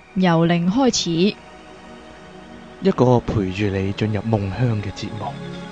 由零開始， 一個陪住你進入夢鄉嘅節目。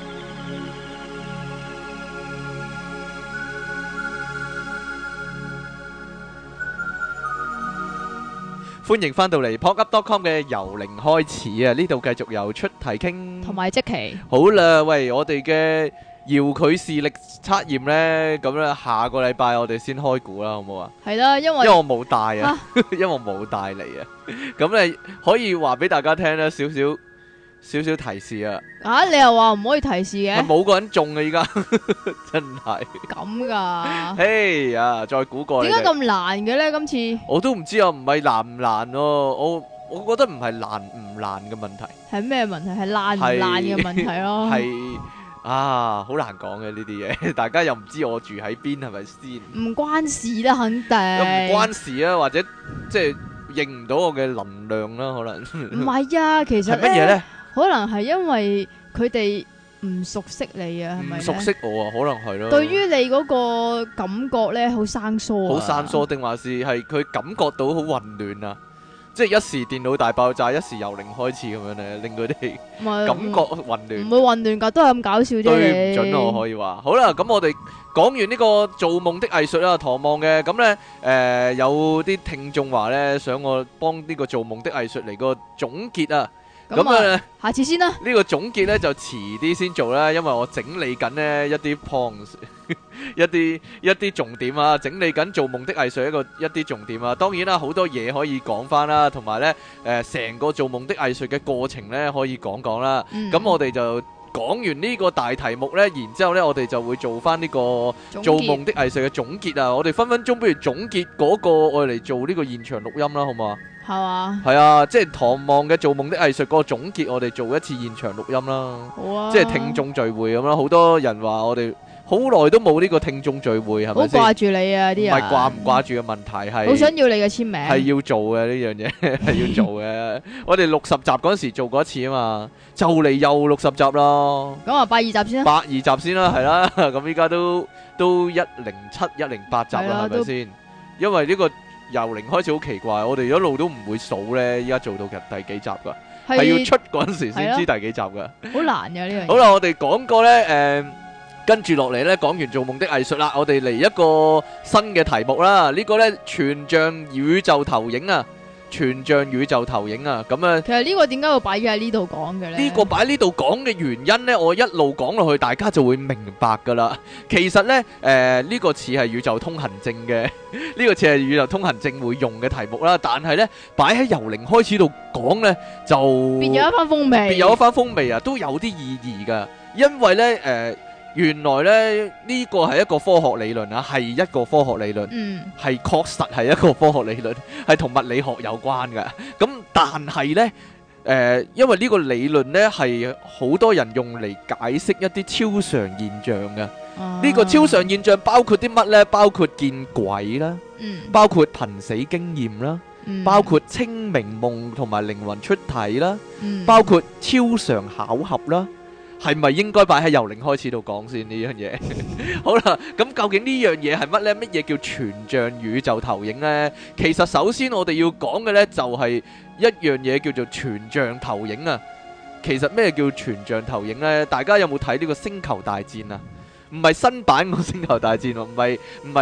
歡迎翻到嚟 PodUp.com 嘅由零開始啊！呢度繼續由出題傾， 同埋即期好啦，喂，我哋嘅遙距視力測驗呢，咁咧下個禮拜我哋先開估啦，好唔好啊？ 係啦，因為因為我冇帶啊，因為我冇帶嚟啊，咁你可以話俾大家聽咧，少少提示啊！ 你又話唔可以提示嘅， 係冇個人中啊！依家真係咁噶？ 嘿呀，再估過你哋點解咁難嘅咧？今次我都唔知啊，唔係難唔難咯，我覺得唔係難唔難嘅問題， 係咩問題？係爛唔爛嘅問題咯。 係啊，好難講嘅呢啲嘢，大家又唔知我住喺邊，係咪先？ 唔關事啦，肯定。 又唔關事啊，或者即係認唔到我嘅能量啦，可能。 唔係啊，其實係乜嘢咧？ 可能係因為佢哋唔熟悉你啊，係咪？ 唔熟悉我啊，可能係咯。 對於你嗰個感覺咧，好生疏啊。 好生疏定還是係佢感覺到好混亂啊？即係一時電腦大爆炸，一時由零開始咁樣咧，令佢哋感覺混亂。 唔會混亂㗎，都係咁搞笑啫。 對唔準我可以話。好啦，咁我哋講完呢個做夢的藝術啦，唐望嘅咁咧，有啲聽眾話咧，想我幫呢個做夢的藝術嚟個總結啊。咁啊， 下次先啦。 呢個總結咧就遲啲先做啦，因為我整理緊呢一啲 points，一啲重點啊，整理緊做夢的藝術一啲重點啊。當然啦，好多嘢可以講翻啦，同埋咧成個做夢的藝術嘅過程咧可以講講啦。咁我哋就講完呢個大題目咧，然之後咧我哋就會做翻呢個做夢的藝術嘅總結啊。我哋分分鐘不如總結嗰個我嚟做呢個現場錄音啦，好唔好啊？ 係嘛？ 係啊，即係唐望嘅做夢的藝術嗰個總結，我哋做一次現場錄音啦。 好啊， 即係聽眾聚會咁啦，好多人話我哋好耐都冇呢個聽眾聚會，係咪先？ 好掛住你啊！啲人唔係掛唔掛住嘅問題，係好想要你嘅簽名， 係要做嘅呢樣嘢，係要做嘅。我哋60集嗰陣時做過一次啊嘛，就嚟又60集啦。 咁啊，82集先啦。 82集先啦，係啦。咁依家都107、108集啦，係咪先？因為呢個由零開始好奇怪，我哋一路都唔會數咧，依家做到第幾集噶，係要出嗰陣時先知第幾集噶， 好難嘅呢樣嘢。 好啦，我哋講過咧，跟住落嚟咧，講完做夢的藝術啦，我哋嚟一個新嘅題目啦。呢個咧全像宇宙投影啊，全像宇宙投影啊，咁啊， 其實呢個點解會擺喺呢度講嘅咧？ 呢個擺呢度講嘅原因咧，我一路講落去，大家就會明白噶啦。其實咧，呢個似係宇宙通行證嘅，呢個似係宇宙通行證會用嘅題目啦。但係咧，擺喺由零開始度講咧，就別有一番風味， 別有一番風味啊，都有啲意義噶。因為咧，原來咧呢個係一個科學理論啊，係一個科學理論，係確實係一個科學理論，係同物理學有關嘅。咁但係呢，因為呢個理論呢係好多人用嚟解釋一啲超常現象嘅。呢個超常現象包括啲乜呢？包括見鬼啦，包括瀕死經驗啦，包括清明夢同埋靈魂出體啦，包括超常巧合啦。係咪應該擺喺由零開始度講先呢樣嘢？好啦，咁究竟呢樣嘢係乜呢？乜嘢叫全像宇宙投影呢？其實首先我哋要講嘅呢，就係一樣嘢叫做全像投影啊。其實咩叫全像投影呢？大家有冇睇呢個星球大戰啊？唔係新版個星球大戰喎，唔係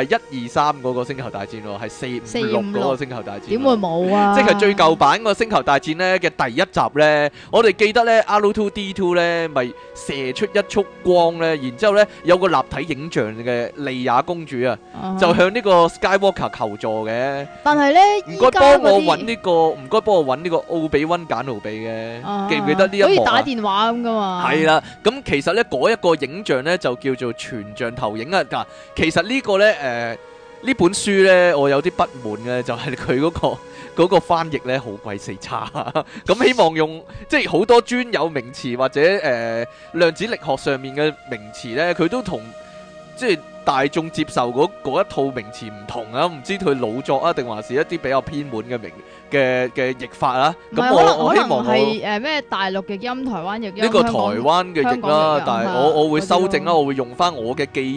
1、2、3嗰個星球大戰喎，係4、5、6嗰個星球大戰。點會冇啊？ 即係最舊版個星球大戰呢嘅第一集呢，我哋記得呢 R2-D2 呢咪射出一束光呢，然之後呢有個立體影像嘅莉亞公主啊，就向呢個 Skywalker 求助嘅。 但係呢， 唔該幫我揾呢個，唔該幫我揾呢個奧比溫簡奴比嘅，記唔記得呢一幕啊？ 好似打電話咁噶嘛。係啦，咁其實呢嗰一個影像呢就叫做全像投影啊！嗱，其實呢個呢，呢本書呢，我有啲不滿嘅，就係佢嗰個翻譯呢，好鬼死差。咁希望用即係好多專有名詞或者量子力學上面嘅名詞呢，佢都同即係大眾接受嗰一套名詞唔同啊！唔知佢老作啊，定還是一啲比較偏門嘅嘅譯法啊？咁我希望係咩大陸譯音、台灣譯音？ 呢個台灣嘅譯啦，但係我會修正啦，我會用翻我嘅記憶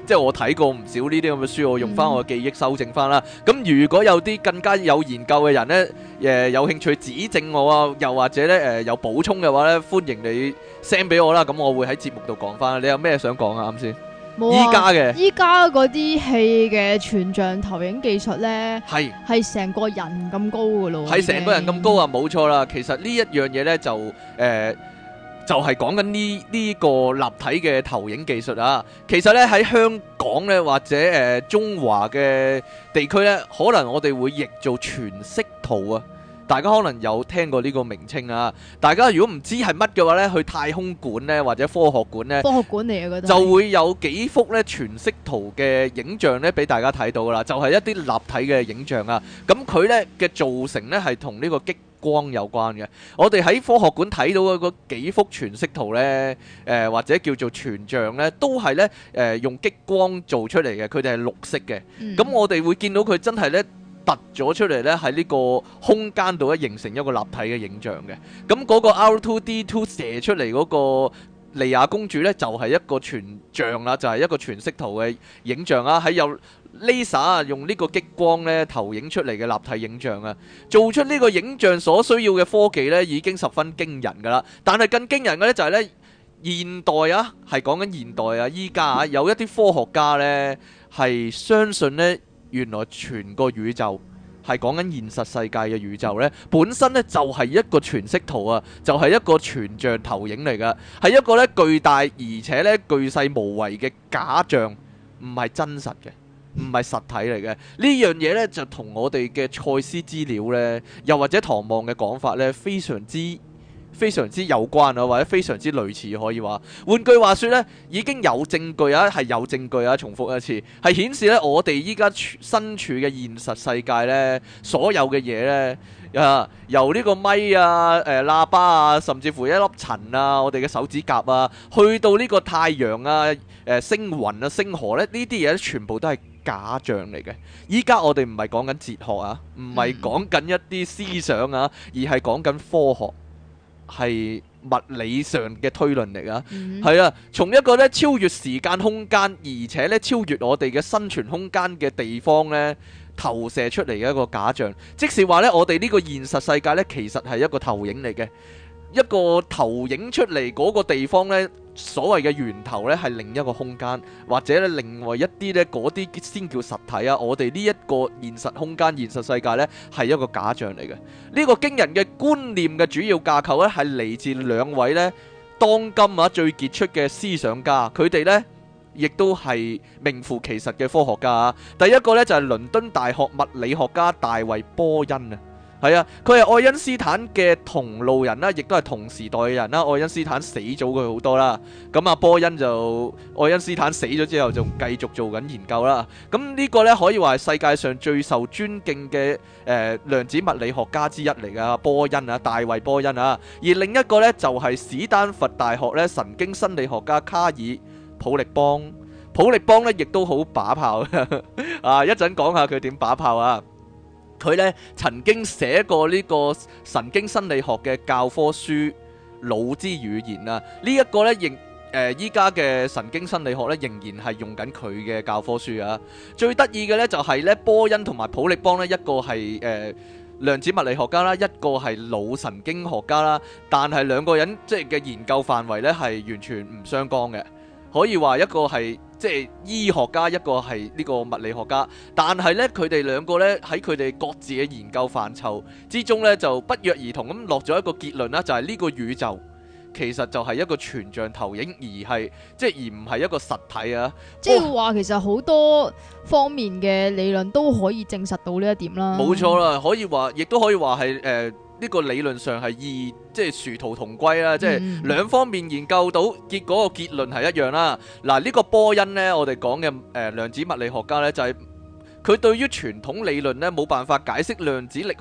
即係我睇過唔少呢啲咁嘅書，我用翻我嘅記憶修正翻啦。咁如果有啲更加有研究嘅人呢，有興趣指正我啊，又或者呢有補充嘅話呢，歡迎你 send 俾我啦。咁我會喺節目度講翻。你有咩想講啊？啱先。依家嗰啲戲嘅全像投影技術呢，係成個人咁高噶咯， 係成個人咁高啊，冇錯啦。其實呢一樣嘢呢，就係講緊呢個立體嘅投影技術啊。其實呢，喺香港呢，或者中華嘅地區呢，可能我哋會譯做全息圖啊。大家可能有聽過呢個名稱啊！大家如果唔知係乜嘅話呢，去太空館呢，或者科學館呢，就會有幾幅呢全息圖嘅影像呢俾大家睇到噶啦，就係一啲立體嘅影像啊！咁佢呢嘅造成呢係同呢個激光有關嘅。我哋喺科學館睇到嘅嗰幾幅全息圖呢，或者叫做全像呢，都係呢用激光做出嚟嘅，佢哋係綠色嘅。咁我哋會見到佢真係呢突咗出嚟咧，喺呢個空間度咧形成一個立體嘅影像嘅。咁嗰個 R2D2 射出嚟嗰個莉亞公主咧，就係一個全像啦，就係一個全息圖嘅影像啊，喺有 laser 啊，用呢個激光咧投影出嚟嘅立體影像啊，做出呢個影像所需要嘅科技咧，已經十分驚人噶啦。但係更驚人嘅咧就係咧，現代啊，係講緊現代啊，依家啊有一啲科學家咧係相信咧。原來全個宇宙係講緊現實世界嘅宇宙呢，本身呢就係一個全息圖啊，就係一個全像投影嚟噶，係一個呢巨大而且呢巨細無遺嘅假象，唔係真實嘅，唔係實體嚟嘅。呢樣嘢呢，就同我哋嘅賽斯資料呢，又或者唐望嘅講法呢，非常之有關啊，或者非常之類似，可以話。換句話說呢，已經有證據啊，係有證據啊，重複一次，係顯示呢，我哋依家身處嘅現實世界呢，所有嘅嘢呢，由呢個咪啊、喇叭啊，甚至乎一粒塵啊，我哋嘅手指甲啊，去到呢個太陽啊、星雲啊、星河呢，呢啲嘢全部都係假象嚟嘅。依家我哋唔係講緊哲學啊，唔係講緊一啲思想啊，而係講緊科學。係物理上嘅推論嚟啊，係啊，從一個咧超越時間空間，而且咧超越我哋嘅生存空間嘅地方咧，投射出嚟嘅一個假象。即是話咧，我哋呢個現實世界咧，其實係一個投影嚟嘅，一個投影出嚟嗰個地方咧。所謂嘅源頭呢係另一個空間，或者咧另外一啲呢嗰啲先叫實體啊！我哋呢一個現實空間、現實世界呢係一個假象嚟嘅。呢個驚人嘅觀念嘅主要架構呢係嚟自兩位呢當今啊最傑出嘅思想家，佢哋呢亦都係名副其實嘅科學家啊！第一個呢就係倫敦大學物理學家大衛波恩啊！係啊，佢係愛因斯坦嘅同路人啦，亦都係同時代嘅人啦。愛因斯坦死咗佢好多啦，咁啊波恩就愛因斯坦死咗之後，仲繼續做緊研究啦。咁呢個呢，可以話係世界上最受尊敬嘅量子物理學家之一嚟噶，波恩啊，大衛波恩啊。而另一個呢，就係史丹佛大學咧神經心理學家卡爾普力邦。普力邦呢，亦都好把炮啊！一陣講下佢點把炮啊！佢咧曾經寫過呢個神經心理學嘅教科書《腦之語言》啊，呢一個咧仍依家嘅神經心理學咧仍然係用緊佢嘅教科書啊。最得意嘅咧就係咧波恩同埋普力邦咧，一個係量子物理學家啦，一個係腦神經學家啦，但係兩個人即係嘅研究範圍咧係完全唔相干嘅。可以話一個係即係醫學家，一個係呢個物理學家，但係呢，佢哋兩個呢，喺佢哋各自嘅研究範疇之中呢，就不約而同咁落咗一個結論啦，就係呢個宇宙其實就係一個全像投影，而唔係一個實體啊！ 即係話其實好多方面嘅理論都可以證實到呢一點啦。 冇錯啦，可以話，亦都可以話係呢個理論上係即係殊途同歸啦，即係兩方面研究到結果個結論係一樣啦。嗱，呢個波恩呢，我哋講嘅量子物理學家呢，就係佢對於傳統理論呢冇辦法解釋量子力學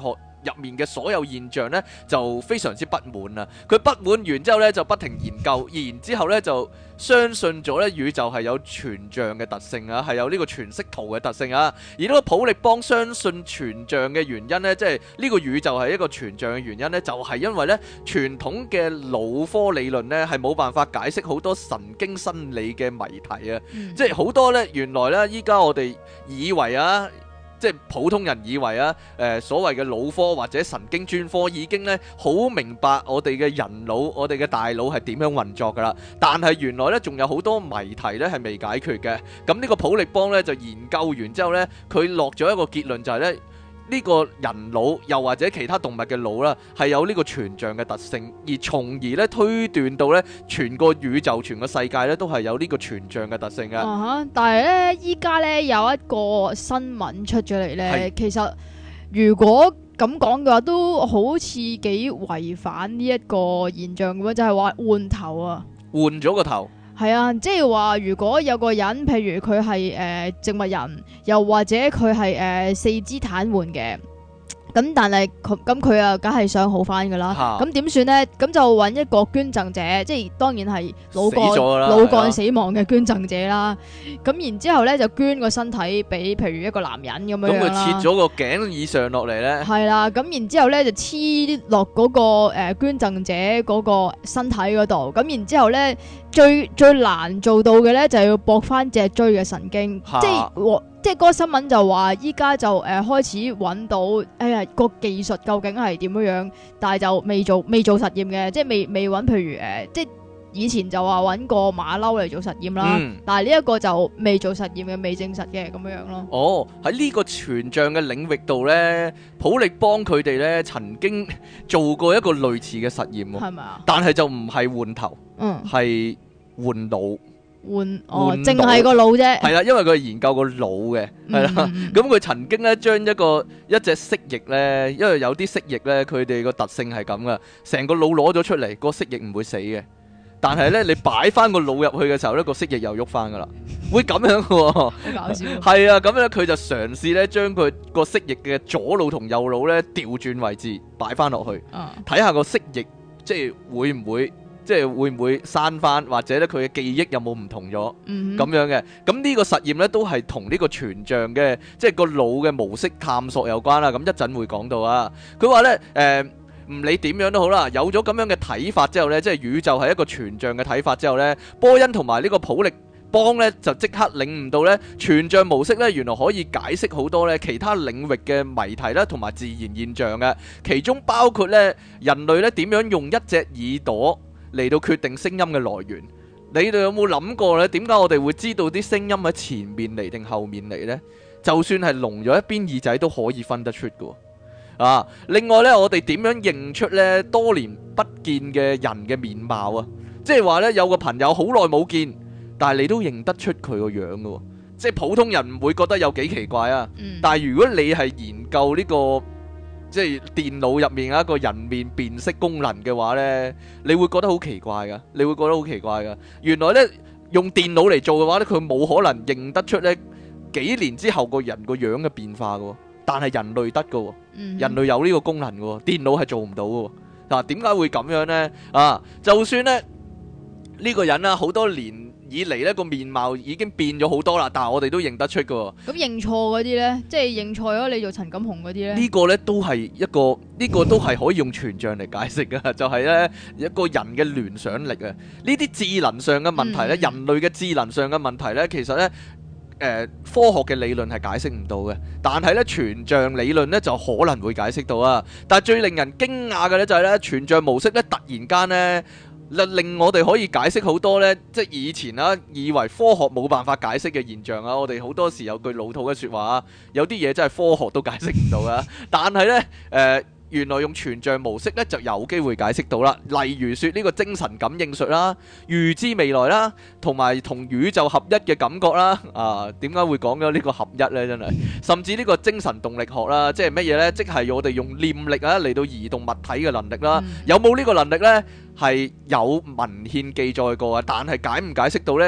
入面嘅所有現象呢，就非常之不滿啊！佢不滿完之後呢，就不停研究，然之後呢就相信咗呢宇宙係有全像嘅特性啊，係有呢個全息圖嘅特性啊。而呢個普力邦相信全像嘅原因呢，即係呢個宇宙係一個全像嘅原因呢，就係因為呢傳統嘅腦科理論呢係冇辦法解釋好多神經生理嘅謎題啊！即係好多呢，原來呢依家我哋以為啊，即係普通人以為啊，所謂嘅腦科或者神經專科已經咧好明白我哋嘅人腦、我哋嘅大腦係點樣運作㗎啦。但係原來咧仲有好多謎題咧係未解決嘅。咁呢個普力邦咧就研究完之後咧，佢落咗一個結論就係咧。呢個人腦又或者其他動物嘅腦啦，係有呢個全像嘅特性，而從而咧推斷到咧全個宇宙、全個世界咧都係有呢個全像嘅特性嘅。 但係咧，依家咧有一個新聞出咗嚟咧，其實如果咁講嘅話，都好似幾違反呢一個現象嘅，就係話換頭啊， 換咗個頭。 係啊，即係話如果有個人，譬如佢係植物人，又或者佢係四肢癱瘓嘅。咁但係佢啊，梗係想好翻噶啦。咁點算呢？咁就揾一個捐贈者，即係當然係腦幹死亡嘅捐贈者啦。咁然之後呢，就捐個身體俾譬如一個男人咁樣啦。咁佢切咗個頸以上落嚟呢？係啦。咁然之後呢，就黐落嗰個捐贈者嗰個身體嗰度。咁然之後呢，最難做到嘅呢，就係要駁翻脊椎嘅神經，即係嗰個新聞就話依家就開始揾到，個技術究竟係點樣，但係就未做實驗嘅，即係未揾，譬如即係以前就話揾個馬騮嚟做實驗啦，但係呢一個就未做實驗嘅，未證實嘅咁樣咯。 哦，喺呢個全像嘅領域度呢，普力邦佢哋呢曾經做過一個類似嘅實驗喎，係咪啊？但係就唔係換頭，係換腦。 淨係個腦啫。 係啦，因為佢係研究個腦嘅，係啦。咁佢曾經咧將一隻蜥蜴咧，因為有啲蜥蜴咧，佢哋個特性係咁噶，成個腦攞咗出嚟，個蜥蜴唔會死嘅。但係咧，你擺翻個腦入去嘅時候咧，個蜥蜴又喐翻噶啦，會咁樣嘅喎。好搞笑。係啊，咁樣佢就嘗試咧將佢個蜥蜴嘅左腦同右腦咧調轉位置擺翻落去，睇下個蜥蜴即係會唔會刪翻，或者咧佢嘅記憶有冇唔同咗咁樣嘅？咁呢個實驗咧都係同呢個全像嘅即係個腦嘅模式探索有關啦。咁一陣會講到啊。佢話咧唔理點樣都好啦，有咗咁樣嘅睇法之後咧，即係宇宙係一個全像嘅睇法之後咧，波恩同埋呢個普力邦咧就即刻領悟到咧全像模式咧原來可以解釋好多咧其他領域嘅謎題啦，同埋自然現象嘅，其中包括咧人類咧點樣用一隻耳朵嚟到決定聲音嘅來源。你哋有冇諗過呢？點解我哋會知道啲聲音喺前面嚟定後面嚟呢？就算係聾咗一邊耳仔都可以分得出㗎。另外呢，我哋點樣認出呢多年不見嘅人嘅面貌啊？即係話呢，有個朋友好耐冇見，但係你都認得出佢個樣㗎。即係普通人唔會覺得有幾奇怪啊。但係如果你係研究呢個即係電腦入面一個人面辨識功能嘅話呢，你會覺得好奇怪噶。原來呢，用電腦嚟做嘅話呢，佢冇可能認得出呢幾年之後個人個樣嘅變化噶。但係人類得噶，人類有呢個功能噶，電腦係做唔到噶。嗱，點解會咁樣呢？就算呢呢個人啊，好多年以嚟呢個面貌已經變咗好多啦，但係我哋都認得出噶。 咁認錯嗰啲呢，即係認錯咗你做陳錦鴻嗰啲呢？ 呢個呢都係呢個都係可以用全像嚟解釋噶，就係呢一個人嘅聯想力啊。呢啲智能上嘅問題呢，人類嘅智能上嘅問題呢，其實呢。科學嘅理論係解釋唔到嘅，但係咧全像理論咧就可能會解釋到啊！但係最令人驚訝嘅咧就係咧全像模式咧突然間咧令我哋可以解釋好多咧，即係以前啊以為科學冇辦法解釋嘅現象啊！我哋好多時有句老土嘅説話啊，有啲嘢真係科學都解釋唔到啊！但係咧原來用全像模式咧就有機會解釋到啦，例如說呢個精神感應術啦、預知未來啦，同埋同宇宙合一嘅感覺啦。點解會講咗呢個合一呢？真係，甚至呢個精神動力學啦，即係乜嘢呢？即係我哋用念力啊嚟到移動物體嘅能力啦。有冇呢個能力呢？係有文獻記載過啊，但係解唔解釋到呢？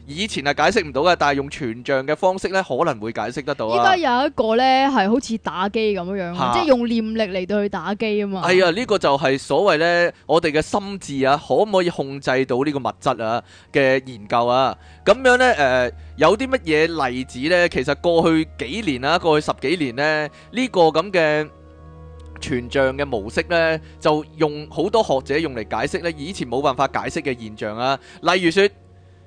以前係解釋唔到嘅，但係用全像嘅方式咧，可能會解釋得到啊。 依家有一個咧係好似打機咁樣樣，即係用念力嚟到去打機啊嘛。 係啊，呢個就係所謂咧，我哋嘅心智啊，可唔可以控制到呢個物質啊嘅研究啊？咁樣咧，有啲乜嘢例子咧？其實過去幾年啊，過去10幾年咧，呢個咁嘅全像嘅模式呢，就用好多學者用嚟解釋呢以前冇辦法解釋嘅現象啊。例如說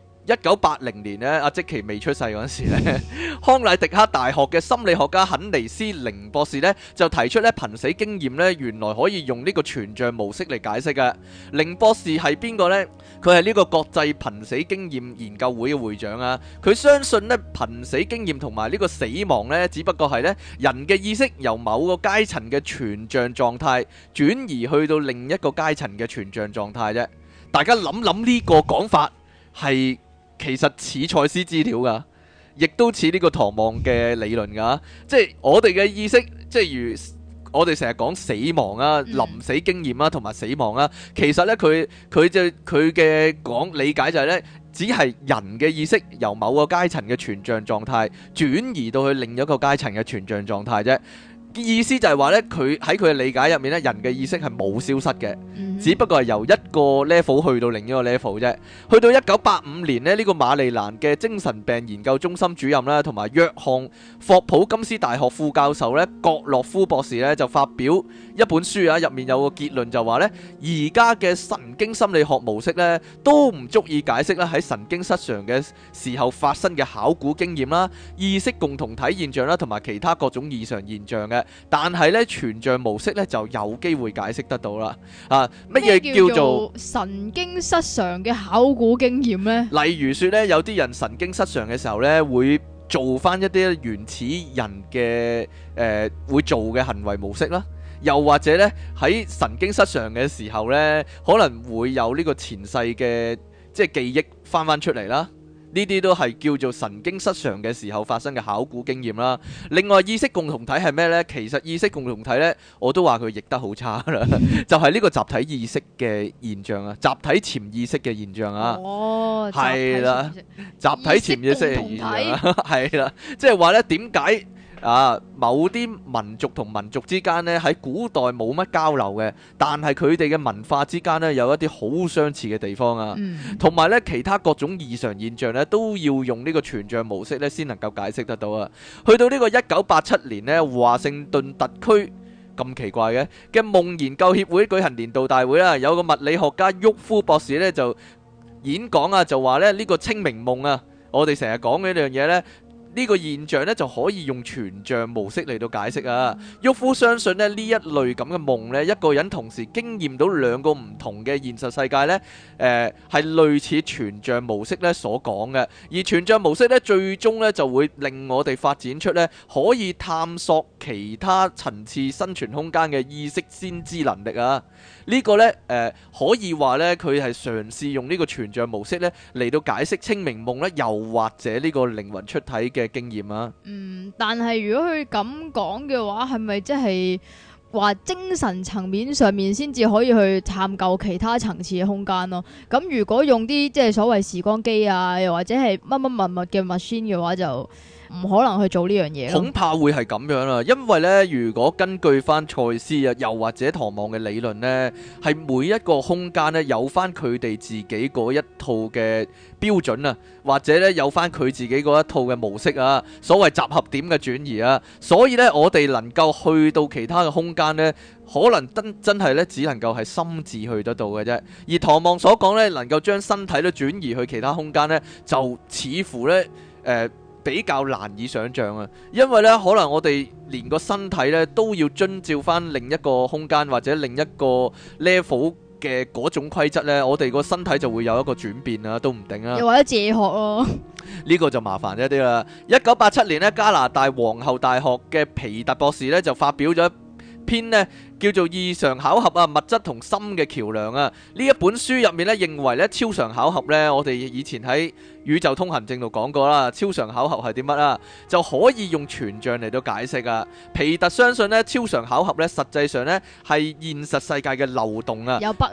1980年呢，阿積奇未出世嗰陣時呢，康乃迪克大學嘅心理學家肯尼斯寧博士呢，就提出呢瀕死經驗呢，原來可以用呢個全像模式嚟解釋嘅。寧博士係邊個呢？佢係呢個國際瀕死經驗研究會嘅會長啊。佢相信呢瀕死經驗同埋呢個死亡呢，只不過係呢人嘅意識由某個階層嘅全像狀態轉移去到另一個階層嘅全像狀態啫。大家諗諗呢個講法係其實似賽斯資料噶，亦都似呢個唐望嘅理論噶。即係我哋嘅意識，即係如我哋成日講死亡啊、臨死經驗啊同埋死亡啊，其實呢，佢嘅講理解就係呢，只係人嘅意識由某個階層嘅全像狀態轉移到去另一個階層嘅全像狀態啫。意思就係話呢，佢喺佢嘅理解入面呢，人嘅意識係冇消失嘅，只不過係由一個 level 去到另一個 level 啫。去到1985年呢，呢個馬利蘭嘅精神病研究中心主任啦，同埋約翰霍普金斯大學副教授呢，葛洛夫博士呢，就發表一本書啊，入面有個結論就話呢，而家嘅神經心理學模式呢，都唔足以解釋啦喺神經失常嘅時候發生嘅考古經驗啦、意識共同體現象啦，同埋其他各種異常現象嘅。但係咧，全像模式咧就有機會解釋得到啦。啊，乜嘢叫做神經失常嘅考古經驗呢？ 例如說咧，有啲人神經失常嘅時候咧，會做翻一啲原始人嘅會做嘅行為模式啦。又或者咧，喺神經失常嘅時候咧，可能會有呢個前世嘅即係記憶翻出嚟啦。呢啲都係叫做神經失常嘅時候發生嘅考古經驗啦。另外，意識共同體係咩呢？其實意識共同體呢，我都話佢譯得好差啦，就係呢個集體意識嘅現象啊，集體潛意識嘅現象啊。哦，係啦，集體潛意識嘅現象啊，係啦，即係話呢點解？某啲民族同民族之間呢，喺古代冇乜交流嘅，但係佢哋嘅文化之間呢，有一啲好相似嘅地方啊，同埋呢其他各種異常現象呢，都要用呢個全像模式呢先能夠解釋得到啊。去到呢個1987年呢，華盛頓特區咁奇怪嘅夢研究協會舉行年度大會啦，有個物理學家沃夫博士呢就演講啊，就話呢呢個清明夢啊，我哋成日講嘅呢樣嘢呢。呢個現象咧就可以用全像模式嚟到解釋啊。沃夫相信咧呢一類咁嘅夢咧，一個人同時經驗到兩個唔同嘅現實世界咧，係類似全像模式咧所講嘅。而全像模式咧最終咧就會令我哋發展出咧可以探索其他層次生存空間嘅意識先知能力啊。呢個咧可以話咧佢係嘗試用呢個全像模式咧嚟到解釋清明夢咧，又或者呢個靈魂出體嘅經驗啊。 但係如果佢咁講嘅話，係咪即係話精神層面上面先至可以去探究其他層次嘅空間咯？咁如果用啲即係所謂時光機啊，又或者係乜乜物嘅 machine 嘅話，就唔可能去做呢樣嘢。恐怕會係咁樣啦，因為呢，如果根據翻賽斯啊，又或者唐望嘅理論呢，係每一個空間呢有翻佢哋自己嗰一套嘅標準啊，或者呢有翻佢自己嗰一套嘅模式啊，所謂集合點嘅轉移啊，所以呢，我哋能夠去到其他嘅空間呢，可能真係呢只能夠係心智去得到嘅啫。而唐望所講呢，能夠將身體都轉移去其他空間呢，就似乎呢比較難以想像啊，因為咧可能我哋連個身體咧都要遵照翻另一個空間或者另一個 level 嘅嗰種規則咧，我哋個身體就會有一個轉變啊，都唔定啊。 又或者借學咯， 呢個就麻煩一啲啦。1987年咧，加拿大皇后大學嘅皮特博士咧就發表咗一篇呢叫做異常巧合啊，物質同心嘅橋梁啊。呢一本書入面咧認為咧超常巧合咧，我哋以前喺宇宙通行證度講過啦，超常巧合係啲乜啊？就可以用全像嚟到解釋啊。皮特相信咧超常巧合咧實際上咧係現實世界嘅漏洞啊。 有筆啊？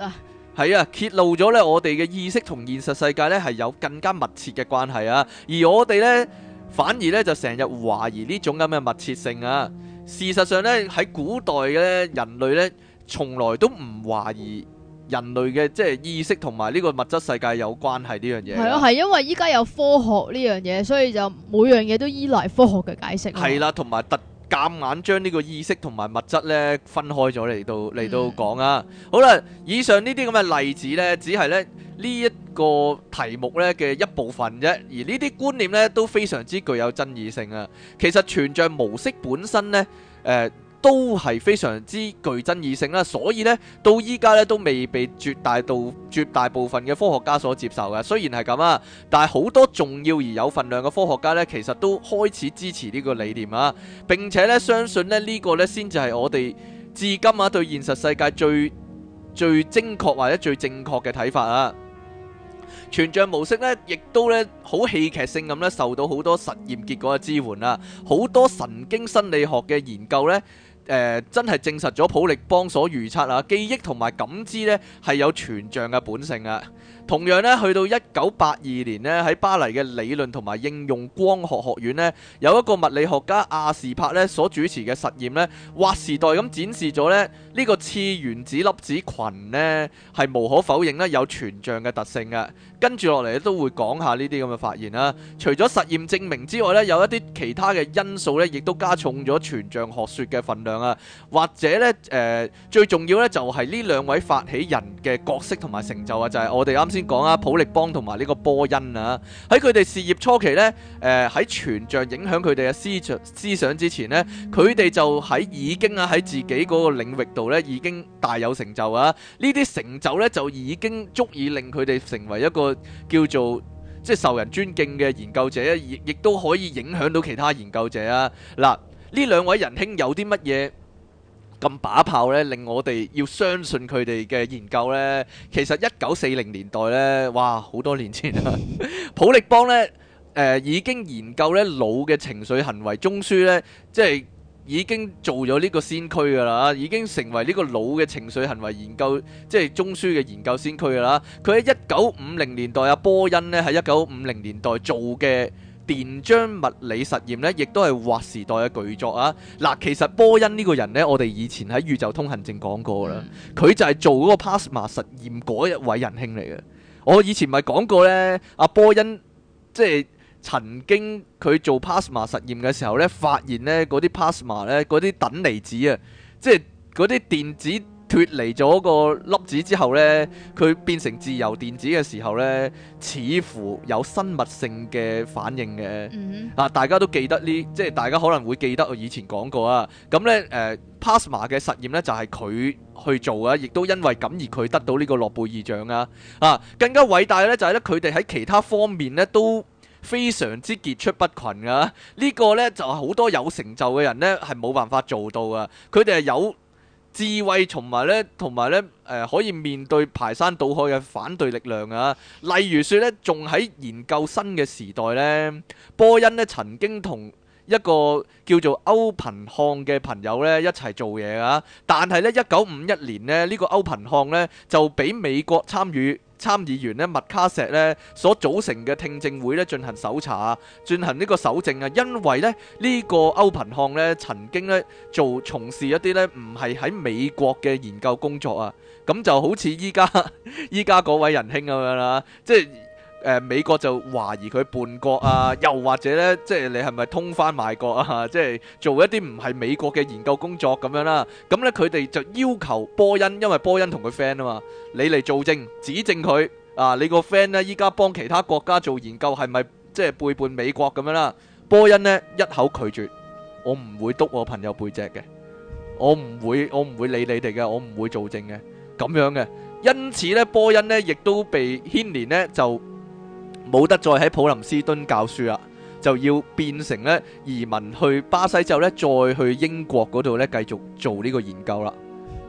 係啊，揭露咗咧我哋嘅意識同現實世界咧係有更加密切嘅關係啊，而我哋咧反而咧就成日懷疑呢種咁嘅密切性啊。事實上咧喺古代嘅人類咧，從來都唔懷疑人類嘅即係意識同埋呢個物質世界有關係呢樣嘢。 係咯，係因為依家有科學呢樣嘢，所以就每樣嘢都依賴科學嘅解釋。 係啦，同埋夾硬將呢個意識同埋物質咧分開咗嚟到講啊。好啦，以上呢啲咁嘅例子咧，只係咧呢一個題目咧嘅一部分啫，而呢啲觀念咧都非常之具有爭議性啊。其實全像模式本身咧，都係非常之具爭議性啦，所以呢，到依家呢都未被絕大部分嘅科學家所接受嘅。雖然係咁啊，但係好多重要而有份量嘅科學家呢，其實都開始支持呢個理念啊，並且呢相信呢呢個呢先至係我哋至今啊對現實世界最精確或者最正確嘅睇法啊。全像模式呢，亦都呢好戲劇性咁呢受到好多實驗結果嘅支援啊，好多神經心理學嘅研究呢。真係證實咗普力邦所預測啊，記憶同埋感知呢係有全像嘅本性啊。同樣呢，去到1982年呢，喺巴黎嘅理論同埋應用光學學院呢，有一個物理學家亞士柏呢所主持嘅實驗呢，劃時代咁展示咗呢個次原子粒子群呢係無可否認呢有全像嘅特性嘅。跟住落嚟都會講下呢啲咁嘅發現啦。除咗實驗證明之外呢，有一啲其他嘅因素呢，亦都加重咗全像學說嘅份量啊。或者呢，最重要呢，就係呢兩位發起人嘅角色同埋成就啊，就係我哋啱先講啊，普力邦同埋呢個波恩啊。喺佢哋事業初期呢，喺全像影響佢哋嘅思想之前呢，佢哋就已經喺自己嗰個領域度呢已經大有成就啊。呢啲成就呢，就已經足以令佢哋成為一個叫做即係受人尊敬嘅研究者，亦都可以影響到其他研究者啊。嗱，呢兩位仁兄有啲乜嘢咁把炮呢，令我哋要相信佢哋嘅研究呢？其實1940年代呢，哇，好多年前啦，普力邦呢，已經研究呢腦嘅情緒行為中樞呢，即係已經做咗呢個先驅噶啦，已經成為呢個腦嘅情緒行為研究即係中樞嘅研究先驅噶啦。佢喺1950年代，波恩呢喺1950年代做嘅電漿物理實驗呢，亦都係劃時代嘅巨作啊！嗱，其實波恩呢個人呢，我哋以前喺宇宙通行證講過啦，佢就係做嗰個 plasma 實驗嗰一位仁兄嚟嘅。我以前咪講過呢，阿波恩即係曾經佢做 plasma 實驗嘅時候呢，發現呢嗰啲 plasma 呢，嗰啲等離子啊，即係嗰啲電子脫離咗個粒子之後呢，佢變成自由電子嘅時候呢，似乎有生物性嘅反應嘅。大家都記得呢，即係大家可能會記得我以前講過啊。咁呢，plasma 嘅實驗呢，就係佢去做啊，亦都因為咁而佢得到呢個諾貝爾獎啊。更加偉大嘅呢，就係呢，佢哋喺其他方面呢都非常之傑出不群噶。呢個呢，就係好多有成就嘅人呢係冇辦法做到啊。佢哋係有智慧同埋咧，可以面對排山倒海嘅反對力量啊！例如說咧，仲喺研究生嘅時代咧，波恩咧曾經同一個叫做歐貧漢嘅朋友咧一齊做嘢啊！但係咧1951年咧，呢個歐貧漢咧就俾美國參議員咧麥卡錫咧所組成嘅聽證會咧進行搜查，進行呢個搜證啊！因為咧呢個歐貧漢咧曾經咧從事一啲咧唔係喺美國嘅研究工作啊，咁就好似依家嗰位仁兄咁樣啦，即係美國就懷疑佢叛國啊，又或者咧即係你係咪通番賣國啊？即係做一啲唔係美國嘅研究工作咁樣啦。咁咧佢哋就要求波恩，因為波恩同佢 friend 啊嘛，你嚟做證指證佢啊，你個 friend 咧依家幫其他國家做研究係咪即係背叛美國咁樣啦？波恩呢一口拒絕，我唔會督我朋友背脊嘅，我唔會理你哋嘅，我唔會做證嘅咁樣嘅。因此咧波恩呢亦都被牽連呢，就冇得再喺普林斯頓教書啦，就要變成咧移民去巴西之後咧，再去英國嗰度咧繼續做呢個研究啦。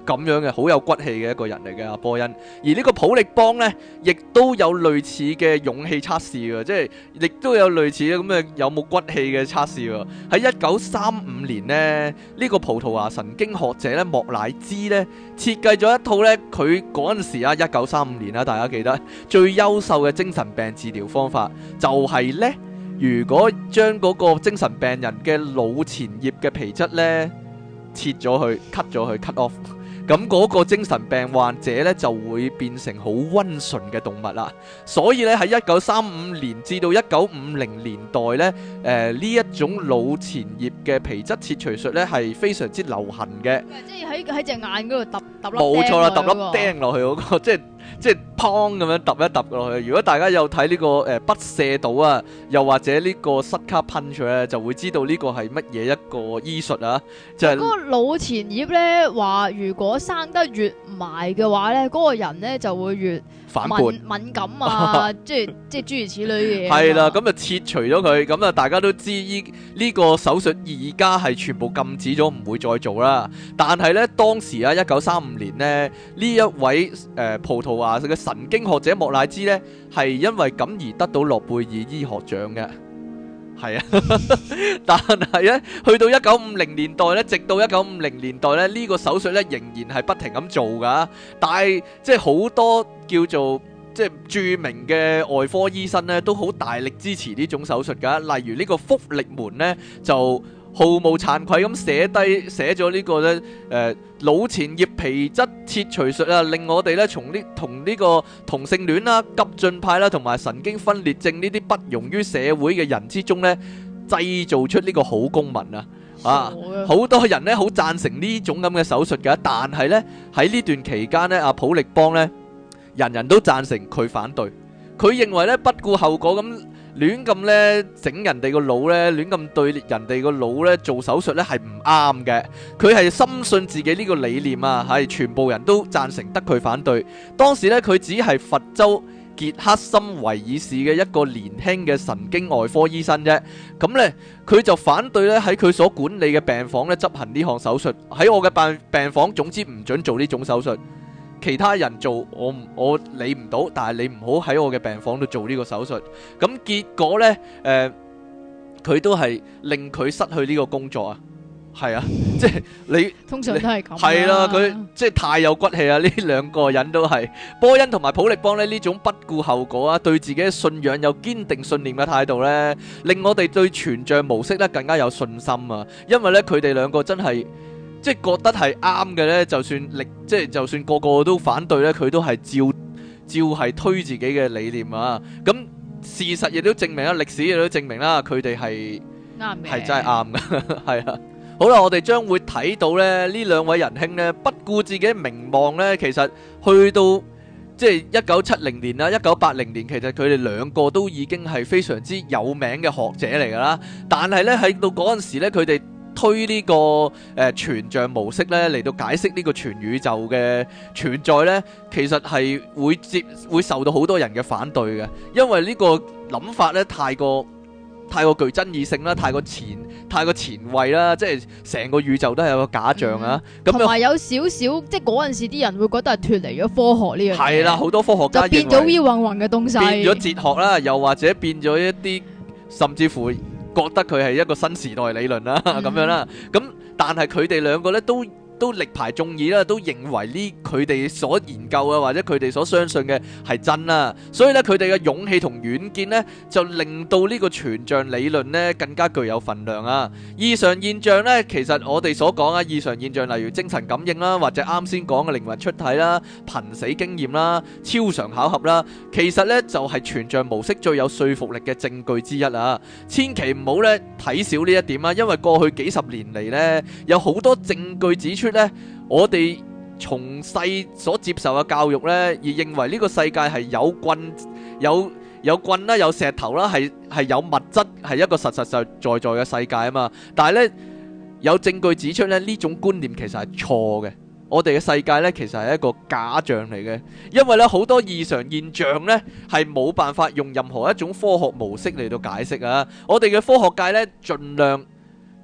咁樣嘅，好有骨氣嘅一個人嚟嘅阿波恩。而呢個普力邦呢，亦都有類似嘅勇氣測試嘅，即係亦都有類似咁嘅有冇骨氣嘅測試喎。喺1935年呢，呢個葡萄牙神經學者咧莫乃茲呢，設計咗一套呢，佢嗰陣時啊1935年啦，大家記得最優秀嘅精神病治療方法就係呢：如果將嗰個精神病人嘅腦前葉嘅皮質呢切咗佢 cut 咗佢 cut off， 咁嗰個精神病患者呢就會變成好溫順嘅動物啦。所以呢，喺1935年至到1950年代呢，呢一種腦前葉嘅皮質切除術呢係非常之流行嘅。 即係喺隻眼嗰度揼粒冇錯啦，揼粒釘釘落去嗰個，即係砰咁樣揼一揼落去。如果大家有睇呢個不射島啊，又或者呢個塞卡噴出咧，就會知道呢個係乜嘢一個醫術啊，就係嗰個腦前葉咧話，如果生得越埋嘅話咧，嗰個人咧就會越反叛敏感啊，即係諸如此類嘅嘢。 係啦，咁就切除咗佢，咁啊大家都知呢個手術而家係全部禁止咗，唔會再做啦。但係咧當時啊1935年呢，呢一位葡萄牙嘅神經學者莫乃茲呢，係因為咁而得到諾貝爾醫學獎嘅。係啊，但係咧，去到1950年代咧，直到1950年代咧，呢個手術咧仍然係不停咁做噶。但係即係好多叫做即係著名嘅外科醫生咧，都好大力支持呢種手術噶。例如呢個福力門咧，就毫無慚愧咁寫咗呢個咧腦前葉皮質切除術啊，令我哋咧同呢個同性戀啦、急進派啦同埋神經分裂症呢啲不容於社會嘅人之中咧，製造出呢個好公民啊！啊，好多人咧好贊成呢種咁嘅手術㗎，但係咧喺呢段期間咧，阿普力邦咧人人都贊成，佢反對，佢認為咧不顧後果咁亂咁咧整人哋個腦咧，亂咁對人哋個腦咧做手術咧係唔啱嘅。佢係深信自己呢個理念啊，係全部人都贊成，得佢反對。當時咧佢只係佛州傑克森維爾市嘅一個年輕嘅神經外科醫生啫。咁咧佢就反對咧喺佢所管理嘅病房咧執行呢項手術。喺我嘅病房，總之唔准做呢種手術。其他人做我理唔到，但係你唔好喺我嘅病房度做呢個手術。咁結果呢，佢都係令佢失去呢個工作啊。係啊，即係你通常都係咁。 係啦，佢即係太有骨氣啊！呢兩個人都係波恩同埋普力邦呢種不顧後果啊，對自己嘅信仰有堅定信念嘅態度呢，令我哋對全像模式呢更加有信心啊！因為呢，佢哋兩個真係。即係覺得係啱嘅呢，就算個個都反對呢，佢都係照係推自己嘅理念啊！咁事實亦都證明啦，歷史亦都證明啦，佢哋係啱嘅，係真係啱嘅，係啊！好啦，我哋將會睇到呢兩位仁兄呢，不顧自己名望呢，其實去到即係1970年啦、1980年，其實佢哋兩個都已經係非常之有名嘅學者嚟㗎啦。但係呢，喺到嗰陣時呢，佢哋推呢個全像模式咧嚟到解釋呢個全宇宙嘅存在咧，其實係會受到好多人嘅反對嘅，因為呢個諗法咧太過具爭議性啦，太過前衛啦，即係成個宇宙都係有個假象啊。咁同埋有少少，即係嗰陣時啲人會覺得係脫離咗科學呢樣嘢。係啦，好多科學家就變咗烏雲雲嘅東西，變咗哲學啦，又或者變咗一啲甚至乎。覺得佢係一個新時代理論啦，咁樣啦，咁但係佢哋兩個咧都力排眾議啦，都認為呢佢哋所研究啊或者佢哋所相信嘅係真啦，所以咧佢哋嘅勇氣同遠見呢，就令到呢個全像理論呢更加具有分量啊！異常現象呢，其實我哋所講啊異常現象，例如精神感應啦，或者啱先講嘅靈魂出體啦、瀕死經驗啦、超常巧合啦，其實呢就係全像模式最有說服力嘅證據之一啊！千祈唔好呢睇少呢一點啊，因為過去幾十年嚟呢，有好多證據指出咧，我哋從細所接受嘅教育咧，而認為呢個世界係有棍啦，有石頭啦，係有物質，係一個實實在在嘅世界啊嘛。但係咧，有證據指出咧，呢種觀念其實係錯嘅。我哋嘅世界咧，其實係一個假象嚟嘅，因為咧好多異常現象咧係冇辦法用任何一種科學模式嚟到解釋啊。我哋嘅科學界咧，盡量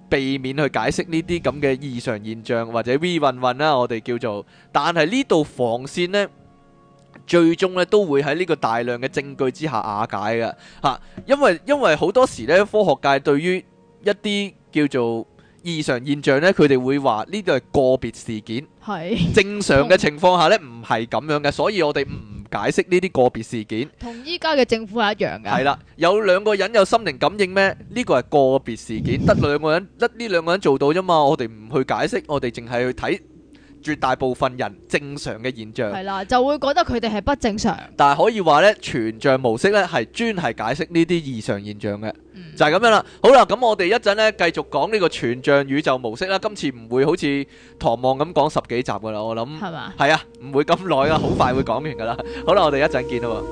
避免去解釋呢啲咁嘅異常現象或者 V 運運啦，我哋叫做。但係呢度防線呢，最終咧都會喺呢個大量嘅證據之下瓦解嘅嚇，因為好多時咧科學界對於一啲叫做異常現象咧，佢哋會話呢度係個別事件， 係正常嘅情況下咧唔係咁樣嘅，所以我哋唔解釋呢啲個別事件。 同依家嘅政府係一樣嘅。 係啦，有兩個人有心靈感應咩？呢個係個別事件，得兩個人，得呢兩個人做到啫嘛。我哋唔去解釋，我哋淨係去睇絕大部分人正常嘅現象。 係啦，就會覺得佢哋係不正常。 但係可以話呢，全像模式呢係專係解釋呢啲異常現象嘅，就係咁樣啦。好啦，咁我哋一陣呢繼續講呢個全像宇宙模式啦。今次唔會好似唐望咁講10幾集噶啦，我諗係嘛？ 係啊，唔會咁耐啊，好快會講完噶啦。好啦，我哋一陣見啦。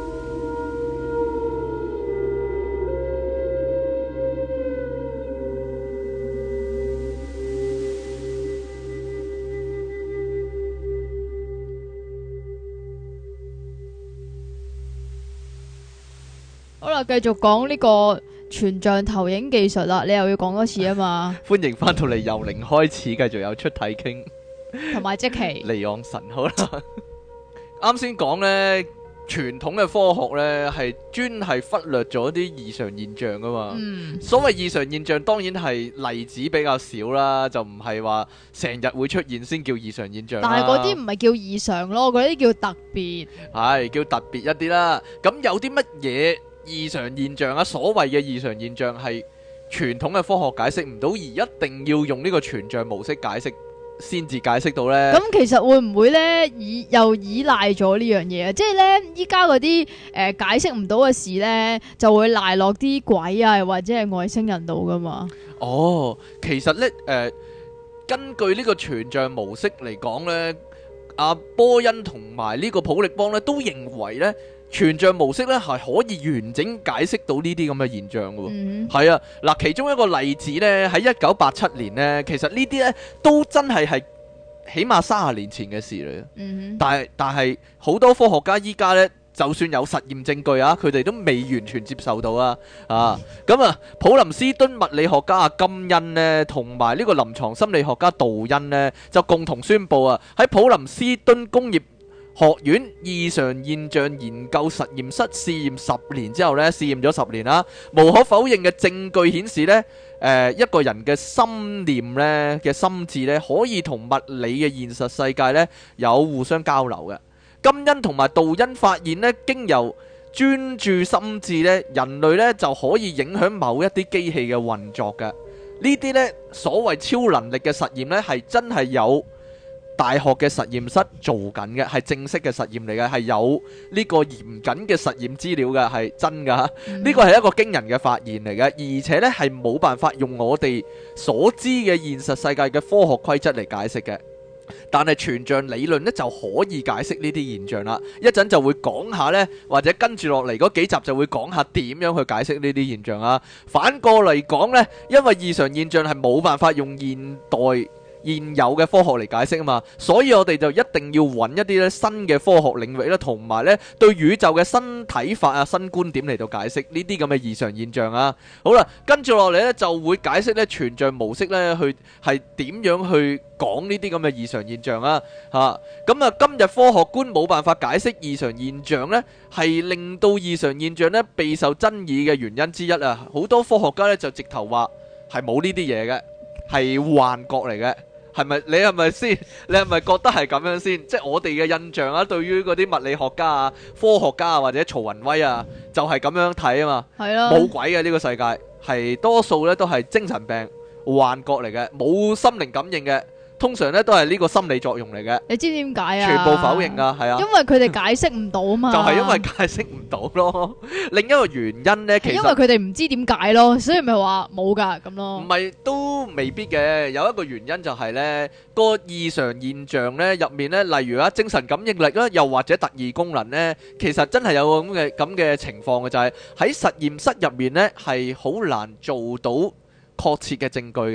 好啦，繼續講呢個全像投影技術啦，你又要講多次啊嘛。 歡迎翻到嚟由零開始，繼續有出體傾同埋即期離岸神。好啦，啱先講呢，傳統嘅科學呢係專係忽略咗啲異常現象噶嘛。所謂異常現象當然係例子比較少啦，就唔係話成日會出現先叫異常現象啦。 但係嗰啲唔係叫異常咯，嗰啲叫特別。係叫特別一啲啦。咁有啲乜嘢異常現象啊？所謂嘅異常現象係傳統嘅科學解釋唔到，而一定要用呢個全像模式解釋先至解釋到呢。 咁其實會唔會呢？又依賴咗呢樣嘢啊？即係呢，依家嗰啲解釋唔到嘅事呢，就會賴落啲鬼啊，或者係外星人度噶嘛？ 哦，其實呢，根據呢個全像模式嚟講呢，阿波恩同埋呢個普力邦呢都認為呢，全像模式咧係可以完整解釋到呢啲咁嘅現象嘅。係啊，嗱，其中一個例子呢，喺1987年呢，其實呢啲呢都真係起碼30年前嘅事嚟嘅。但係好多科學家依家呢，就算有實驗證據啊，佢哋都未完全接受到啊。咁啊，普林斯頓物理學家阿金恩呢，同埋呢個臨床心理學家杜恩呢，就共同宣佈啊，喺普林斯頓工業學院異常現象研究實驗室試驗10年之後呢，試驗咗10年啦，無可否認嘅證據顯示呢，一個人嘅心念呢嘅心智呢，可以同物理嘅現實世界呢有互相交流嘅。金恩同埋杜恩發現呢，經由專注心智呢，人類呢就可以影響某一啲機器嘅運作嘅。呢啲呢所謂超能力嘅實驗呢，係真係有大學嘅實驗室做緊嘅，係正式嘅實驗嚟嘅，係有呢個嚴謹嘅實驗資料嘅，係真噶。呢個係一個驚人嘅發現嚟嘅，而且呢係冇辦法用我哋所知嘅現實世界嘅科學規則嚟解釋嘅。但係全像理論呢就可以解釋呢啲現象啦。一陣就會講下呢，或者跟住落嚟嗰幾集就會講下點樣去解釋呢啲現象啊。反過嚟講呢，因為異常現象係冇辦法用現有嘅科學嚟解釋啊嘛，所以我哋就一定要揾一啲咧新嘅科學領域啦，同埋咧對宇宙嘅新睇法啊、新觀點嚟到解釋呢啲咁嘅異常現象啊。好啦，跟住落嚟咧就會解釋咧全像模式咧去係點樣去講呢啲咁嘅異常現象啊。咁啊，今日科學觀冇辦法解釋異常現象咧，係令到異常現象咧備受爭議嘅原因之一啊。好多科學家咧就直頭話係冇呢啲嘢嘅，係幻覺嚟嘅。係咪？你係咪先？你係咪覺得係咁樣先？即係我哋嘅印象啊，對於嗰啲物理學家啊、科學家啊或者曹雲威啊，就係咁樣睇啊嘛。係啊，冇鬼嘅呢個世界，係多數咧都係精神病、幻覺嚟嘅，冇心靈感應嘅。通常咧都係呢個心理作用嚟嘅。你知點解啊？全部否認㗎，係啊。因為佢哋解釋唔到啊嘛。就係因為解釋唔到咯。另一個原因咧，其實因為佢哋唔知點解咯，所以咪話冇㗎咁咯。唔係都未必嘅，有一個原因就係咧個異常現象咧入面咧，例如啊精神感應力啦，又或者特異功能咧，其實真係有咁嘅情況嘅，就係喺實驗室入面咧係好難做到確切嘅證據嘅。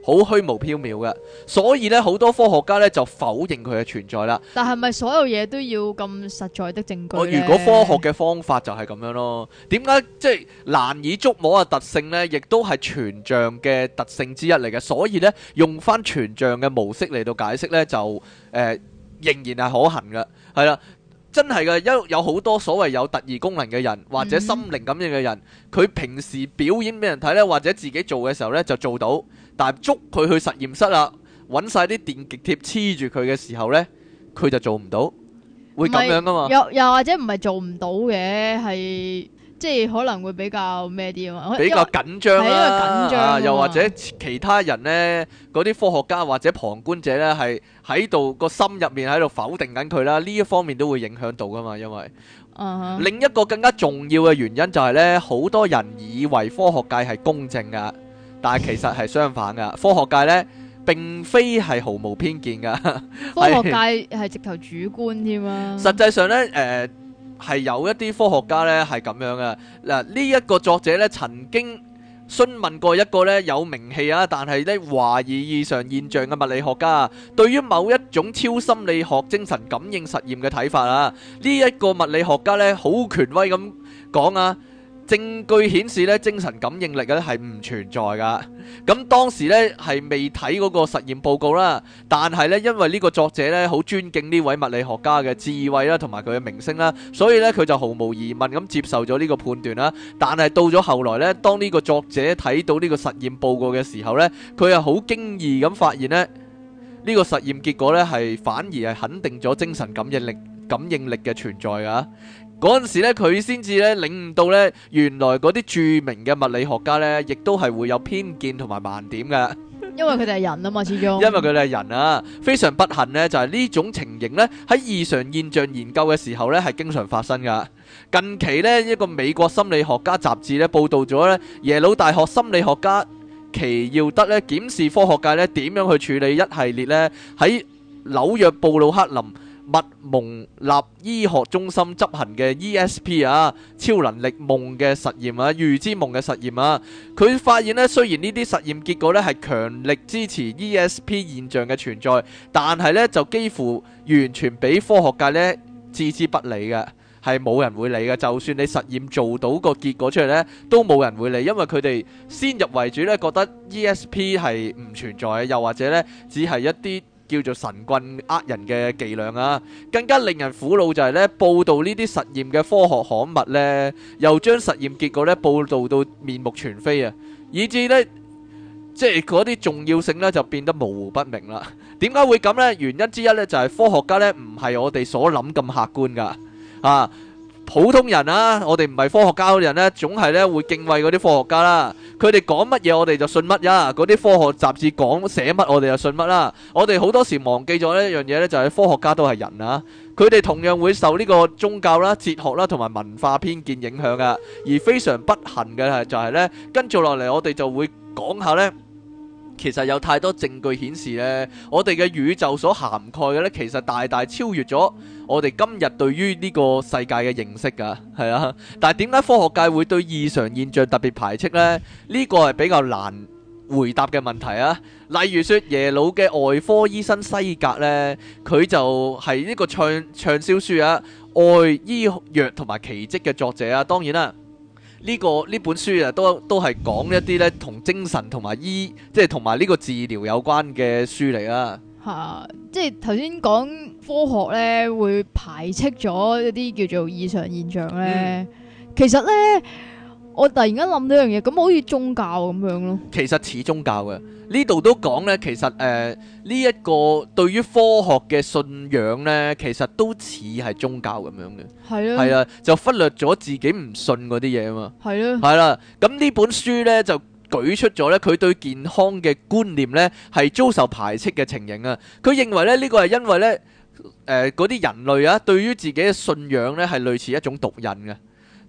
好虛無縹緲嘅，所以咧好多科學家咧就否認佢嘅存在啦。 但係咪所有嘢都要咁實在的證據呢？ 如果科學嘅方法就係咁樣咯，點解即係難以捉摸嘅特性呢？亦都係全像嘅特性之一嚟嘅，所以呢，用翻全像嘅模式嚟到解釋呢，就仍然係可行嘅，係啦。真係嘅，有好多所謂有特異功能嘅人，或者心靈感應嘅人，佢平時表演俾人睇呢，或者自己做嘅時候呢，就做到，但係捉佢去實驗室啦，揾晒啲電極貼黐住佢嘅時候呢，佢就做唔到，會咁樣噶嘛？ 又或者唔係做唔到嘅，係即係可能會比較咩啲啊嘛？ 比較緊張啦， 因為緊張又或者其他人呢，嗰啲科學家或者旁觀者呢，係喺度個心入面喺度否定緊佢啦，呢一方面都會影響到噶嘛。因為另一個更加重要嘅原因就係呢，好多人以為科學界係公正噶，但係其實係相反噶，科學界呢，並非係毫無偏見噶， 科學界係直頭主觀添啊。 實際上呢，係有一啲科學家呢係咁樣嘅。嗱，呢一個作者呢曾經詢問過一個呢有名氣啊，但係呢懷疑異常現象嘅物理學家，對於某一種超心理學精神感應實驗嘅睇法啊。呢一個物理學家呢好權威咁講啊，證據顯示咧精神感應力咧係唔存在噶。咁當時咧係未睇嗰個實驗報告啦，但係咧因為呢個作者咧好尊敬呢位物理學家嘅智慧啦，同埋佢嘅名聲啦，所以咧佢就毫無疑問咁接受咗呢個判斷啦。但係到咗後來咧，當呢個作者睇到呢個實驗報告嘅時候咧，佢係好驚異咁發現咧，呢個實驗結果咧係反而係肯定咗精神感應力嘅存在噶。嗰陣時咧，佢先至咧領悟到咧，原來嗰啲著名嘅物理學家咧，亦都係會有偏見同埋盲點嘅。 因為佢哋係人啊嘛，始終。 因為佢哋係人啊，非常不幸呢，就係呢種情形呢，喺異常現象研究嘅時候呢，係經常發生噶。近期呢，一個美國心理學家雜誌呢報道咗呢，耶魯大學心理學家奇耀德呢檢視科學界呢點樣去處理一系列呢喺紐約布魯克林密蒙納醫學中心執行嘅 ESP 啊，超能力夢嘅實驗啊，預知夢嘅實驗啊，佢發現呢，雖然呢啲實驗結果呢係強力支持 ESP 現象嘅存在，但係呢就幾乎完全俾科學界呢置之不理嘅，係冇人會理嘅。就算你實驗做到個結果出嚟呢，都冇人會理，因為佢哋先入為主呢，覺得 ESP 係唔存在嘅，又或者呢只係一啲叫做神棍呃人嘅伎倆啊。更加令人苦惱就係咧，報道呢啲實驗嘅科學刊物呢，又將實驗結果咧報道到面目全非啊，以至呢，即係嗰啲重要性呢就變得模糊不明啦。點解會咁呢？原因之一呢，就係科學家呢唔係我哋所諗咁客觀噶啊。普通人啊，我哋唔係科學家嘅人呢，總係呢會敬畏嗰啲科學家啦。佢哋講乜嘢，我哋就信乜呀。嗰啲科學雜誌講寫乜，我哋就信乜啦。我哋好多時忘記咗一樣嘢呢，就係科學家都係人啊。佢哋同樣會受呢個宗教啦、哲學啦同埋文化偏見影響噶。而非常不幸嘅係就係呢，跟住落嚟我哋就會講下呢。其實有太多證據顯示呢，我哋嘅宇宙所涵蓋嘅呢，其實大大超越咗我哋今日對於呢個世界嘅認識噶，係啊。但係點解科學界會對異常現象特別排斥呢？呢個係比較難回答嘅問題啊。例如說耶魯嘅外科醫生西格呢，佢就係呢個暢銷書啊《愛醫藥同埋奇蹟》嘅作者啊。當然啦。呢本書啊，都係講一啲咧同精神同埋即係同埋呢個治療有關嘅書嚟啦。嚇， 即係頭先講科學咧會排斥咗一啲叫做異常現象咧。其實咧，我突然間諗到一樣嘢，咁好似宗教咁樣咯。 其實似宗教嘅，呢度都講咧，其實呢一個對於科學嘅信仰咧，其實都似係宗教咁樣嘅。係啊，係啊，就忽略咗自己唔信嗰啲嘢啊嘛。係啊，係啦。咁呢本書咧就舉出咗咧佢對健康嘅觀念咧係遭受排斥嘅情形啊。佢認為咧呢個係因為咧嗰啲人類啊對於自己嘅信仰咧係類似一種毒癮嘅。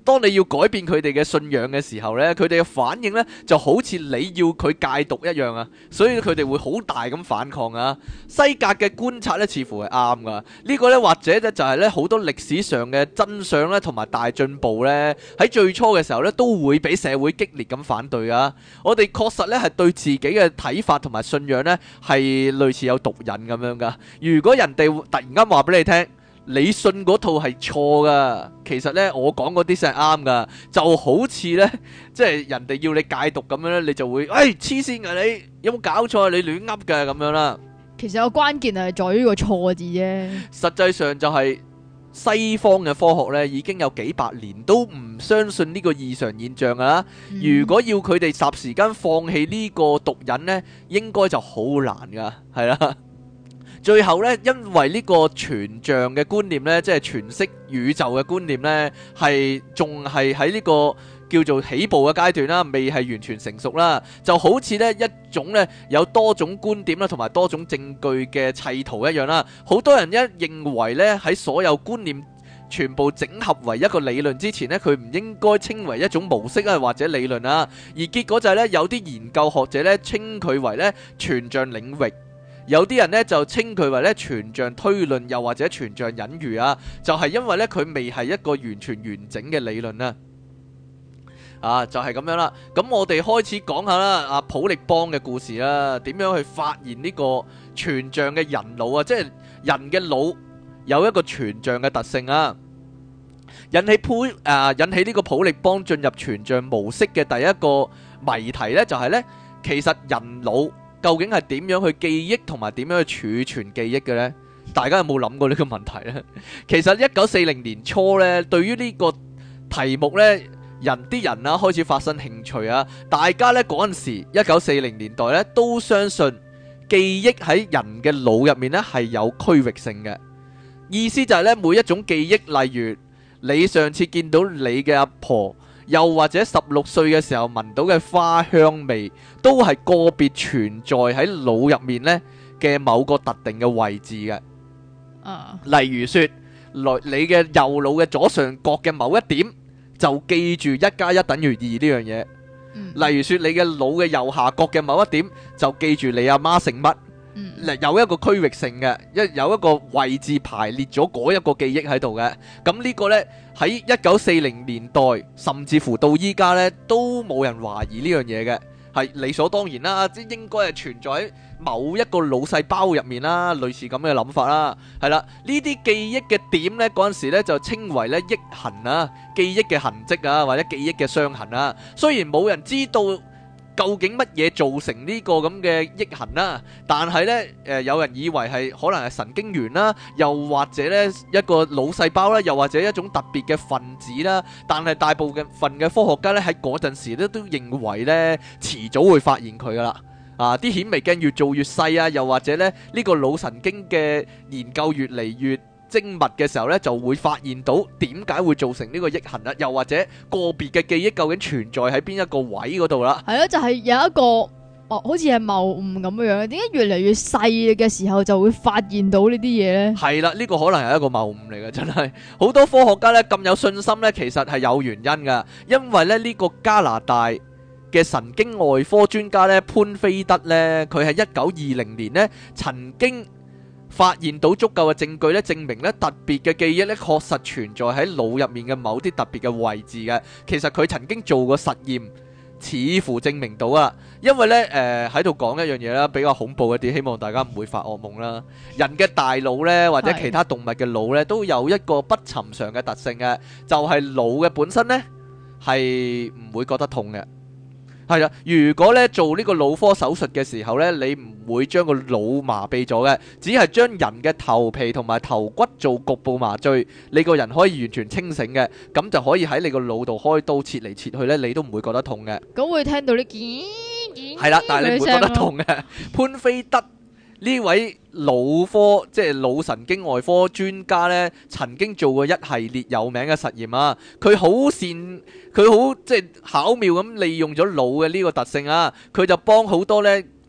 當你要改變佢哋嘅信仰嘅時候呢，佢哋嘅反應呢就好似你要佢戒毒一樣啊，所以佢哋會好大咁反抗啊。西格嘅觀察呢似乎係啱噶，呢個呢或者呢就係呢好多歷史上嘅真相呢同埋大進步呢，喺最初嘅時候呢都會俾社會激烈咁反對啊。我哋確實呢係對自己嘅睇法同埋信仰呢係類似有毒癮咁樣噶。如果人哋突然間話俾你聽，你信嗰套係錯噶，其實呢，我講嗰啲先係啱噶，就好似呢，即係人哋要你戒毒咁樣呢，你就會，黐線噶你，有冇搞錯啊？你亂噏嘅咁樣啦。 其實個關鍵係在於個錯字啫。 實際上就係西方嘅科學呢，已經有幾百年都唔相信呢個異常現象噶啦。如果要佢哋霎時間放棄呢個毒癮呢，應該就好難噶，係啦。最後呢，因為呢個全像嘅觀念呢，即係全息宇宙嘅觀念呢，仲係喺呢個叫做起步嘅階段啦，未係完全成熟啦。就好似呢一種呢有多種觀點啦，同埋多種證據嘅砌圖一樣啦。好多人一認為呢，喺所有觀念全部整合為一個理論之前呢，佢唔應該稱為一種模式啊，或者理論啊。而結果就係呢，有啲研究學者呢稱佢為呢全像領域。有啲人呢就稱佢為咧全像推論，又或者全像隱喻啊，就係因為咧佢未係一個完全完整嘅理論啦。就係咁樣啦。咁我哋開始講下啦，阿普力邦嘅故事啦，點樣去發現呢個全像嘅人腦啊，即係人嘅腦有一個全像嘅特性啊。引起呢個普力邦進入全像模式嘅第一個謎題呢，就係呢，其實人腦究竟係點樣去記憶同埋點樣去儲存記憶嘅呢？大家有冇諗過呢個問題呢？其實1940年初呢，對於呢個題目呢，啲人啊開始發生興趣啊！大家呢嗰陣時1940年代呢都相信記憶喺人嘅腦入面呢係有區域性嘅，意思就係呢，每一種記憶，例如你上次見到你嘅阿婆，又或者16歲嘅時候聞到嘅花香味，都係個別存在喺腦入面呢嘅某個特定嘅位置嘅。例如說，你嘅右腦嘅左上角嘅某一點，就記住1+1等於2呢樣嘢。例如說，你嘅腦嘅右下角嘅某一點，就記住你阿媽姓乜。有一個區域性嘅，有一個位置排列咗嗰一個記憶喺度嘅。咁呢個呢，喺1940年代，甚至乎到依家呢，都冇人懷疑呢樣嘢嘅，係理所當然啦，即應該係存在喺某一個腦細胞入面啦，類似咁嘅諗法啦。係啦，呢啲記憶嘅點呢，嗰陣時呢就稱為呢憶痕啊，記憶嘅痕跡啊，或者記憶嘅傷痕啊。雖然冇人知道究竟乜嘢造成呢個咁嘅憶痕啦，但係呢，有人以為係可能係神經元啦，又或者呢一個腦細胞啦，又或者一種特別嘅分子啦。但係大部分嘅科學家呢，喺嗰陣時咧都認為呢，遲早會發現佢噶啦。啲顯微鏡越做越細啊，又或者呢，呢個腦神經嘅研究越嚟越精密嘅時候呢，就會發現到點解會造成呢個憶痕啦，又或者個別嘅記憶究竟存在喺邊一個位嗰度啦。 係咯，就係有一個好似係謬誤咁樣嘅，點解越嚟越細嘅時候就會發現到呢啲嘢呢？係啦， 呢個可能係一個謬誤嚟嘅，真係好多科學家呢咁有信心呢，其實係有原因噶，因為咧呢個加拿大嘅神經外科專家呢，潘菲德呢，佢喺1920年呢曾經發現到足夠嘅證據咧，證明咧特別嘅記憶咧確實存在喺腦入面嘅某啲特別嘅位置嘅。其實佢曾經做過實驗，似乎證明到啊。因為咧喺度講一樣嘢啦，比較恐怖一啲，希望大家唔會發噩夢啦。人嘅大腦咧，或者其他動物嘅腦咧，都有一個不尋常嘅特性嘅，就係腦嘅本身咧係唔會覺得痛嘅。係啦，如果咧做呢個腦科手術嘅時候咧，你唔會將個腦麻痹咗嘅，只係將人嘅頭皮同埋頭骨做局部麻醉，你個人可以完全清醒嘅，咁就可以喺你個腦度開刀切嚟切去咧，你都唔會覺得痛嘅。 咁會聽到啲係啦，但係你唔會覺得痛嘅。潘菲德呢位腦科即係腦神經外科專家呢，曾經做過一系列有名嘅實驗啊。佢好即係巧妙咁利用咗腦嘅呢個特性啊。佢就幫好多呢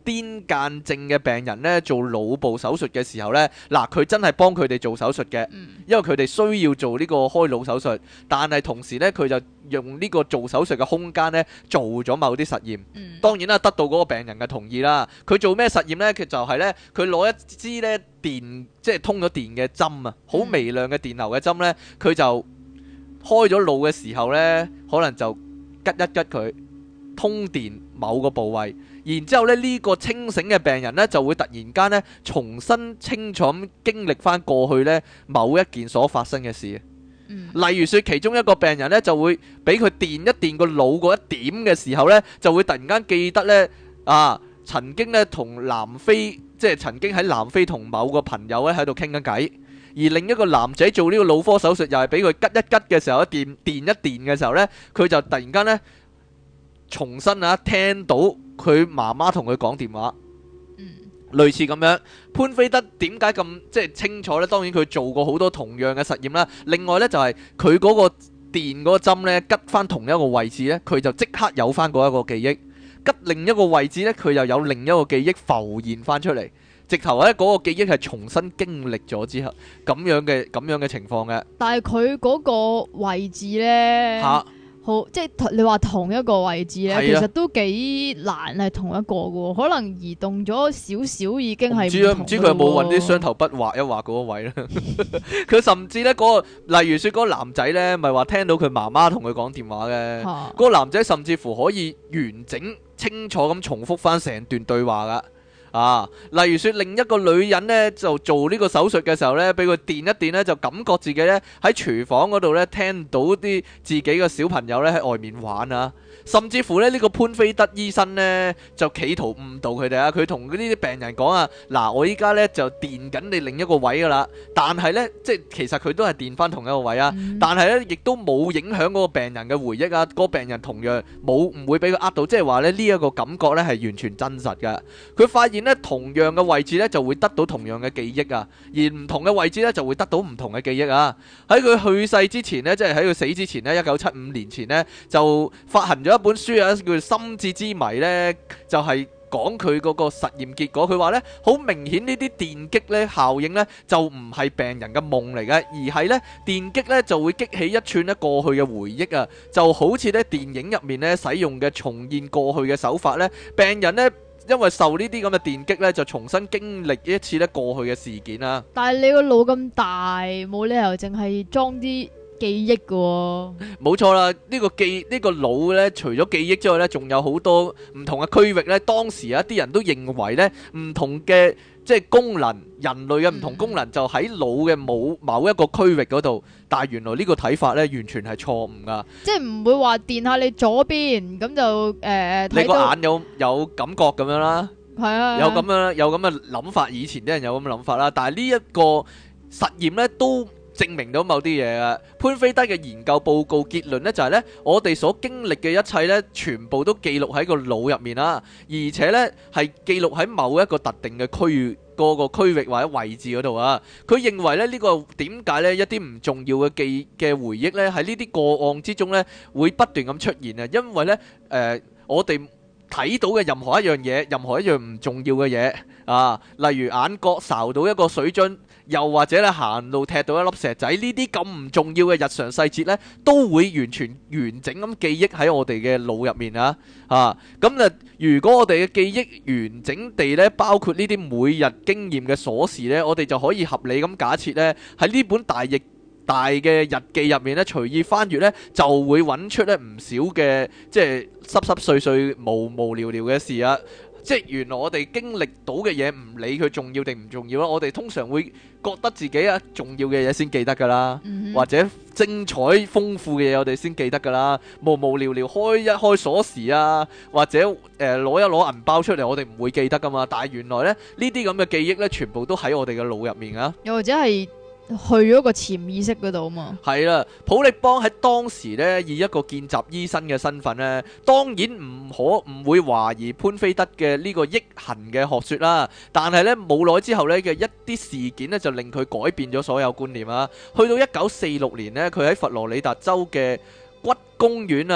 癲癇症嘅病人呢做腦部手術嘅時候呢，嗱佢真係幫佢哋做手術嘅，因為佢哋需要做呢個開腦手術，但係同時呢，佢就用呢個做手術嘅空間呢做咗某啲實驗。當然啦，得到嗰個病人嘅同意啦。佢做咩實驗呢？佢就係呢，佢攞一支呢電，即係通咗電嘅針啊，好微量嘅電流嘅針呢，佢就開咗腦嘅時候呢，可能就吉一吉佢，通電某個部位，然之後咧呢個清醒嘅病人呢，就會突然間呢重新清楚咁經歷翻過去呢某一件所發生嘅事。例如說其中一個病人呢，就會俾佢電一電個腦嗰一點嘅時候呢，就會突然間記得呢，曾經呢同南非，即係曾經喺南非同某個朋友咧喺度傾緊偈，而另一個男仔做呢個腦科手術又係俾佢吉一吉嘅時候，電一電嘅時候呢，佢就突然間呢重新聽到佢媽媽同佢講電話。類似咁樣，潘菲德點解咁即係清楚呢？當然佢做過好多同樣嘅實驗啦。另外呢，就係佢嗰個電嗰個針呢，吉翻同一個位置呢，佢就即刻有翻嗰一個記憶；吉另一個位置呢，佢又有另一個記憶浮現翻出嚟。直頭呢，嗰個記憶係重新經歷咗之後咁樣嘅情況嘅。 但係佢嗰個位置呢，好，即係你話同一個位置咧，其實都幾難係同一個嘅，可能移動咗少少已經係唔知佢有冇揾啲雙頭筆畫一畫嗰個位咧？佢甚至咧嗰個，例如說嗰個男仔咧，咪話聽到佢媽媽同佢講電話嘅，嗰個男仔甚至乎可以完整清楚咁重複翻成段對話噶。例如說另一個女人呢，就做呢個手術嘅時候呢，俾佢電一電呢，就感覺自己呢喺廚房嗰度呢，聽到啲自己嘅小朋友呢喺外面玩啊。甚至乎呢個潘菲德醫生呢，就企圖誤導佢哋啊！佢同呢啲病人講啊，嗱，我依家呢就電緊你另一個位噶啦，但係呢，即係其實佢都係電翻同一個位啊，但係呢，亦都冇影響嗰個病人嘅回憶啊，嗰個病人同樣唔會俾佢呃到，即係話呢，呢一個感覺呢係完全真實嘅。佢發現呢，同樣嘅位置呢就會得到同樣嘅記憶啊，而唔同嘅位置呢就會得到唔同嘅記憶啊。喺佢去世之前呢，即係喺佢死之前呢，1975年前呢，就發行咗一本書啊，叫做《心智之謎》呢，就係講佢嗰個實驗結果。佢話呢，好明顯呢啲電擊呢效應呢，就唔係病人嘅夢嚟嘅，而係呢電擊呢就會激起一串呢過去嘅回憶啊，就好似呢電影入面呢使用嘅重現過去嘅手法呢，病人呢因為受呢啲咁嘅電擊呢，就重新經歷一次呢過去嘅事件啊。 但係你個腦咁大，冇理由淨係裝啲記憶嘅。冇錯啦，呢個腦呢，除咗記憶之外呢，仲有好多唔同嘅區域呢。當時有一啲人都認為呢，唔同嘅即係功能，人類嘅唔同功能就喺腦嘅某一個區域嗰度。但係原來呢個睇法呢，完全係錯誤噶。即係唔會話電下你左邊咁就你個眼有感覺咁樣啦。 係啊， 有咁嘅諗法。以前啲人有咁嘅諗法啦。但係呢一個實驗呢，都證明到某啲嘢啊。潘菲德嘅研究報告結論呢，就係呢：我哋所經歷嘅一切呢，全部都記錄喺個腦入面啦，而且呢係記錄喺某一個特定嘅區域，個區域或者位置嗰度啊。佢認為呢，呢個點解呢一啲唔重要嘅回憶呢，喺呢啲個案之中呢會不斷咁出現啊？因為呢我哋睇到嘅任何一樣嘢，任何一樣唔重要嘅嘢啊，例如眼角睄到一個水樽，又或者咧行路踢到一粒石仔，呢啲咁唔重要嘅日常細節呢，都會完全完整咁記憶喺我哋嘅腦入面啊！咁如果我哋嘅記憶完整地呢，包括呢啲每日經驗嘅瑣事呢，我哋就可以合理咁假設呢，喺呢本大嘅日記入面咧，隨意翻閱咧，就會揾出咧唔少嘅即係濕濕碎碎、無聊聊嘅事啊！即係原來我哋經歷到嘅嘢，唔理佢重要定唔重要啦，我哋通常會覺得自己重要嘅嘢先記得噶啦，或者精彩豐富嘅嘢我哋先記得噶啦，無聊聊開一開鎖匙啊，或者攞一攞銀包出嚟，我哋唔會記得噶嘛。但係原來咧呢啲咁嘅記憶咧，全部都喺我哋嘅腦入面啊， 又或者係去咗個潛意識嗰度啊嘛。係啦，普力邦喺當時呢，以一個見習醫生嘅身份呢，當然唔會懷疑潘菲德嘅呢個憶痕嘅學說啦。但係呢，冇耐之後呢嘅一啲事件呢，就令佢改變咗所有觀念啊。去到1946年呢，佢喺佛羅里達州嘅骨公園啊，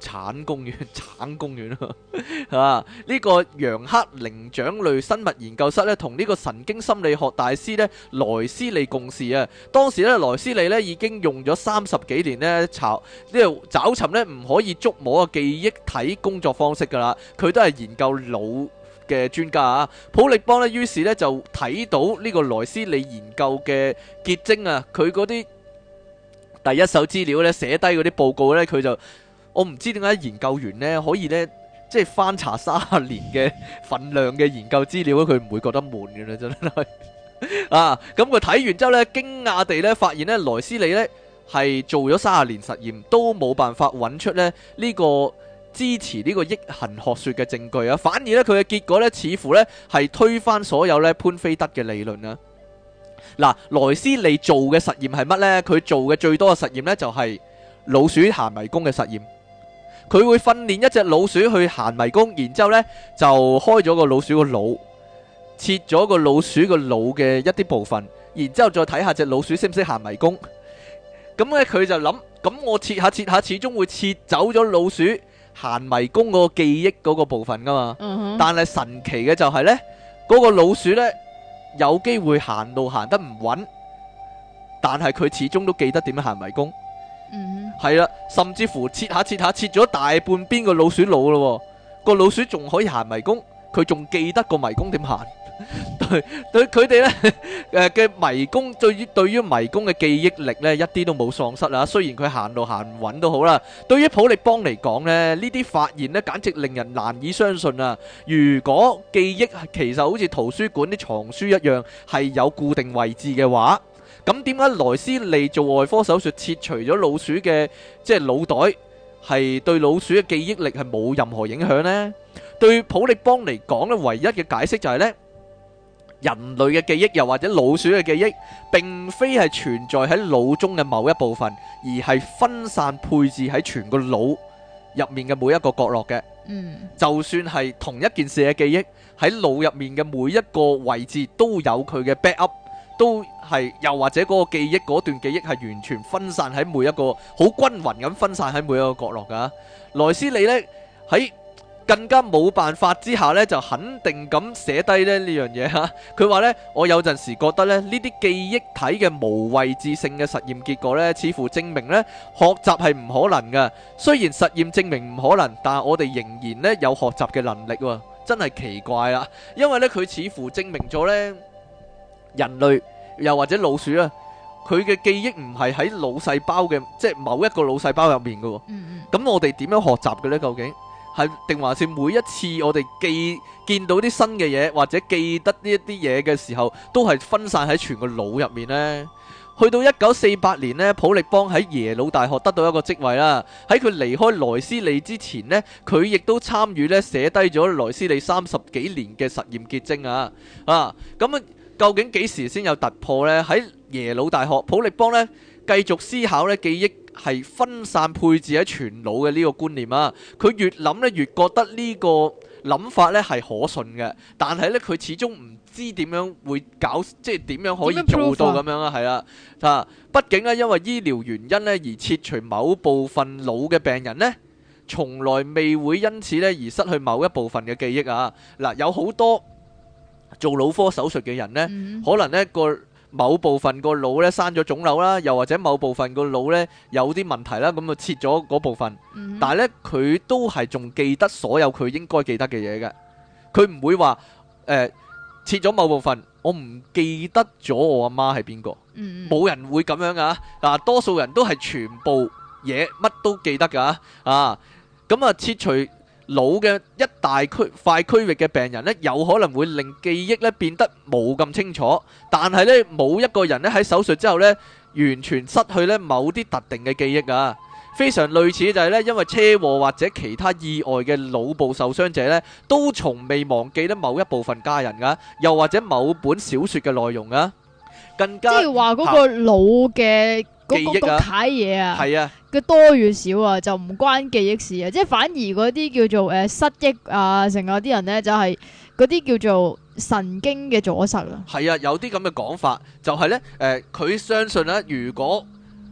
橙公園啊！呢個楊克靈長類生物研究室咧，同呢個神經心理學大師咧萊斯利共事啊。當時咧萊斯利咧已經用咗30幾年咧找尋咧唔可以觸摸嘅記憶體工作方式噶啦。佢都係研究腦嘅專家啊。普力邦咧於是咧就睇到呢個萊斯利研究嘅結晶啊，佢嗰啲第一手資料咧寫低嗰啲報告咧，佢就我唔知點解研究員咧可以咧即係翻查30年嘅份量嘅研究資料，佢唔會覺得悶嘅啦，真係啊！咁佢睇完之後咧，驚訝地咧發現咧萊斯利咧係做咗30年實驗都冇辦法揾出咧呢個支持呢個憶痕學說嘅證據啊，反而咧佢嘅結果咧似乎咧係推翻所有咧潘菲德嘅理論啊。嗱，萊斯利做嘅實驗係乜呢？佢做嘅最多嘅實驗呢，就係老鼠行迷宮嘅實驗。佢會訓練一隻老鼠去行迷宮，然之後呢就開咗個老鼠個腦，切咗個老鼠個腦嘅一啲部分，然之後再睇下隻老鼠識唔識行迷宮。咁呢佢就諗，咁我切下，始終會切走咗老鼠行迷宮嗰個記憶嗰個部分噶嘛。但係神奇嘅就係呢，嗰個老鼠呢，有機會行路行得唔穩，但係佢始終都記得點樣行迷宮。係啦，甚至乎切下切咗大半邊個老鼠腦咯，個老鼠仲可以行迷宮，佢仲記得個迷宮點行。對佢哋呢嘅迷宮，對於迷宮嘅記憶力呢，一啲都冇喪失啊。雖然佢行路行唔穩都好啦。對於普力邦嚟講呢，呢啲發現呢，簡直令人難以相信啊！如果記憶其實好似圖書館啲藏書一樣係有固定位置嘅話，咁點解萊斯利做外科手術切除咗老鼠嘅即係腦袋，係對老鼠嘅記憶力係冇任何影響呢？對普力邦嚟講呢，唯一嘅解釋就係呢，人類嘅記憶又或者老鼠嘅記憶並非係存在喺腦中嘅某一部分，而係分散配置喺全個腦入面嘅每一個角落嘅。就算係同一件事嘅記憶，喺腦入面嘅每一個位置都有佢嘅 backup， 都係又或者嗰個記憶，嗰段記憶係完全分散喺每一個好均勻咁分散喺每一個角落噶。萊斯利呢喺更加冇辦法之下呢，就肯定咁寫低呢樣嘢嚇。佢話呢，我有陣時覺得呢啲記憶體嘅無位置性嘅實驗結果呢，似乎證明呢學習係唔可能嘅。雖然實驗證明唔可能，但係我哋仍然呢有學習嘅能力喎，真係奇怪啦。因為呢，佢似乎證明咗呢人類又或者老鼠啊，佢嘅記憶唔係喺腦細胞嘅，即係某一個腦細胞入面嘅喎。咁我哋點樣學習嘅呢？究竟？係定還是每一次我哋見到啲新嘅嘢，或者記得呢一啲嘢嘅時候，都係分散喺全個腦入面呢？去到1948年呢，普力邦喺耶魯大學得到一個職位啦。喺佢離開萊斯利之前呢，佢亦都參與呢寫低咗萊斯利30幾年嘅實驗結晶啊！咁究竟幾時先有突破呢？喺耶魯大學，普力邦呢繼續思考呢記憶係分散配置喺全腦嘅呢個觀念啊！佢越諗咧越覺得呢個諗法咧係可信嘅，但係咧佢始終唔知點樣會搞，即係點樣可以做到咁樣啊？係啦，畢竟咧因為醫療原因咧而切除某部分腦嘅病人呢，從來未會因此咧而失去某一部分嘅記憶啊！嗱，有好多做腦科手術嘅人呢，可能呢個某部分個腦咧生咗腫瘤啦，又或者某部分個腦咧有啲問題啦，咁就切咗嗰部分。但係咧佢都係仲記得所有佢應該記得嘅嘢嘅，佢唔會話切咗某部分，我唔記得咗我阿媽係邊個，冇人會咁樣噶。嗱，多數人都係全部嘢乜都記得噶。咁啊切除腦嘅一大塊區域嘅病人呢，有可能會令記憶呢變得冇咁清楚，但係呢冇一個人呢喺手術之後呢完全失去呢某啲特定嘅記憶啊。非常類似就係呢，因為車禍或者其他意外嘅腦部受傷者呢，都從未忘記呢某一部分家人噶，又或者某本小說嘅內容啊，更加即係話嗰個腦嘅記憶啊， 睇嘢啊， 係啊， 嘅多與少啊，就唔關記憶事啊，即係反而嗰啲叫做失憶啊，成個啲人呢，就係嗰啲叫做神經嘅阻塞啊。 係啊，有啲咁嘅講法，就係呢，佢相信呢，如果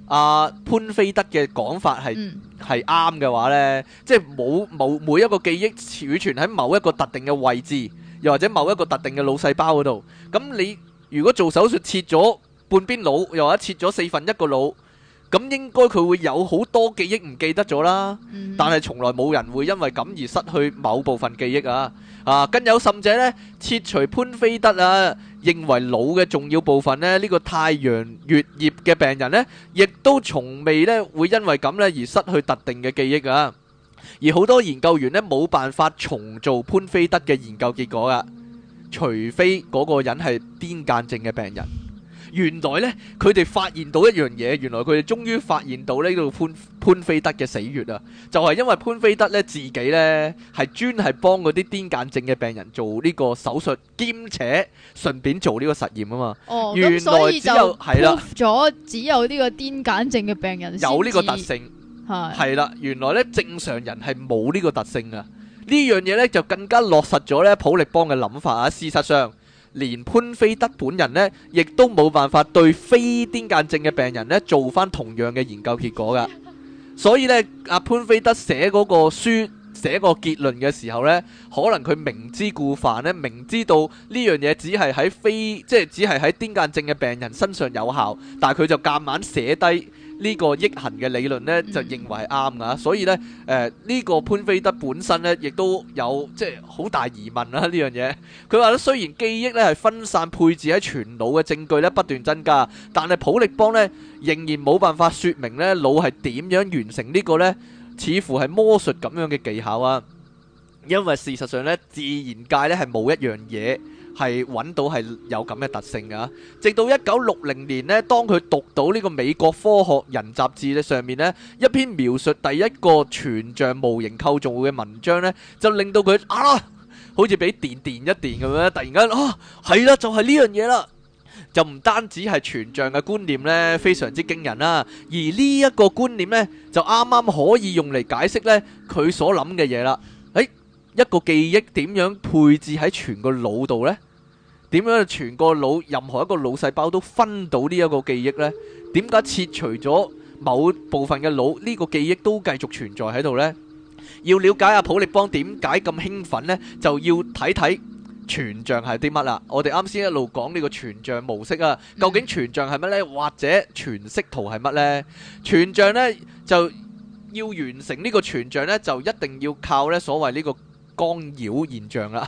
潘菲德嘅講法係啱嘅話呢，即係冇每一個記憶儲存喺某一個特定嘅位置，又或者某一個特定嘅腦細胞嗰度。咁你如果做手術切咗半邊腦，又或者切咗4分一個腦，咁應該佢會有好多記憶唔記得咗啦。但係從來冇人會因為咁而失去某部分記憶啊！更有甚者呢，切除潘菲德認為腦嘅重要部分呢，呢個太陽穴葉嘅病人呢，亦都從未呢會因為咁呢而失去特定嘅記憶啊！而好多研究員呢，冇辦法重做潘菲德嘅研究結果噶，除非嗰個人係癲癇症嘅病人。原來呢，佢哋發現到一樣嘢，原來佢哋終於發現到呢個潘菲德嘅死穴啊！就係因為潘菲德呢自己呢係專係幫嗰啲癲癇症嘅病人做呢個手術，兼且順便做呢個實驗啊嘛。原來所以就係啦， 咗只有呢個癲癇症嘅病人有呢個特性，係啦。原來呢正常人係冇呢個特性啊！呢樣嘢呢就更加落實咗呢普力邦嘅諗法啊！事實上，連潘菲德本人呢，亦都冇辦法對非癲癇症嘅病人呢做翻同樣嘅研究結果噶。所以呢，阿潘菲德寫嗰個書、寫個結論嘅時候呢，可能佢明知故犯呢，明知道呢樣嘢只係喺癲癇症嘅病人身上有效，但係佢就夾硬寫低呢個益行嘅理論呢，就認為係啱噶。所以呢，呢個潘菲德本身呢，亦都有即係好大疑問啦呢樣嘢。佢話咧，雖然記憶呢係分散配置喺全腦嘅證據呢不斷增加，但係普力邦呢仍然冇辦法說明呢腦係點樣完成呢個呢似乎係魔術咁樣嘅技巧啊。因為事實上呢，自然界呢係冇一樣嘢係揾到係有咁嘅特性噶。直到1960年呢，當佢讀到呢個美國科學人雜誌上面呢一篇描述第一個全像模型構造嘅文章呢，就令到佢好似俾電一電咁樣，突然間係啦，就係呢樣嘢啦。就唔單止係全像嘅觀念呢非常之驚人啦，而呢一個觀念呢，就啱啱可以用嚟解釋呢佢所諗嘅嘢啦。一個記憶點樣配置喺全個腦度呢？點樣全個腦任何一個腦細胞都分到呢一個記憶呢？點解切除咗某部分嘅腦，呢個記憶都繼續存在喺度呢？要了解阿普力邦點解咁興奮呢，就要睇睇全像係啲乜啦。我哋啱先一路講呢個全像模式啊，究竟全像係乜呢？或者全息圖係乜呢？全像呢，就要完成呢個全像呢，就一定要靠呢所謂呢個干擾現象啦。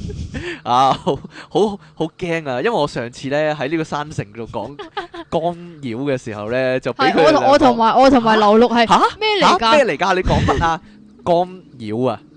好驚啊！因為我上次呢喺呢個山城度講干擾嘅時候呢，就俾佢我同埋劉陸係咩嚟㗎？咩嚟㗎？你講乜啊？干擾啊！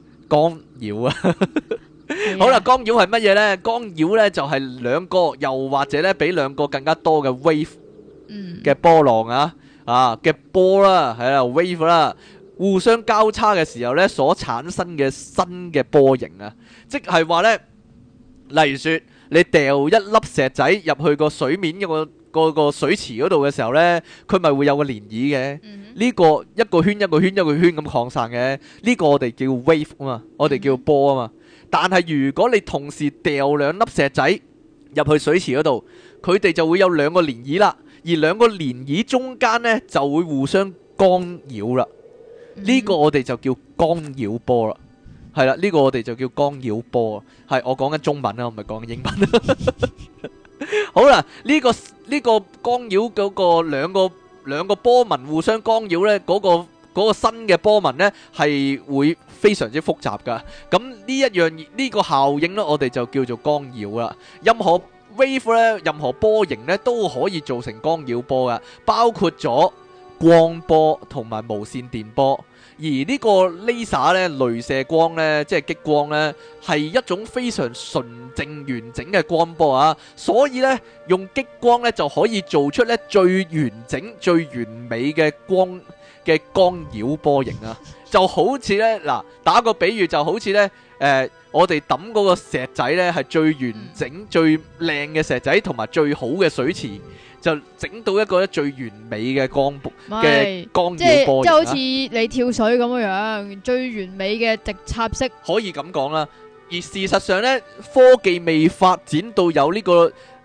好啦，干擾係乜嘢呢？干擾呢就係兩個，又或者呢比兩個更加多嘅 wave 嘅波浪嘅波啦，係啦 wave 啦，互相交叉嘅時候呢所產生嘅新嘅波形啊，即係話呢，例如說你掉一粒石仔入去個水面個水池嗰度嘅時候呢，佢咪會有個漣漪嘅。呢個一個圈一個圈一個圈咁擴散嘅，呢個我哋叫 wave 啊嘛，我哋叫波啊嘛。但係如果你同時掉兩粒石仔入去水池嗰度，佢哋就會有兩個漣漪啦，而兩個漣漪中間呢就會互相干擾啦。呢個我哋就叫干擾波啦。係啦，呢個我哋就叫干擾波。係我講緊中文啦，我唔係講緊英文。好啦，呢個干擾嗰個兩個波紋互相干擾呢，嗰個新嘅波紋呢係會非常之複雜噶。咁呢個效應呢，我哋就叫做干擾啦。任何 wave 呢，任何波形呢，都可以造成干擾波噶，包括咗光波同埋無線電波。而呢個 laser 呢，鐳射光呢，即係激光呢，係一種非常純正完整嘅光波啊！所以呢，用激光呢就可以做出呢最完整、最完美嘅光嘅干擾波形啊！就好似呢，嗱，打個比喻，就好似呢，我哋抌嗰個石仔呢，係最完整、最靚嘅石仔，同埋最好嘅水池。就整到一個最完美嘅光嘅干擾波形，即係好似你跳水咁樣，最完美嘅直插式， 可以咁講啦。而事實上呢，科技未發展到有呢個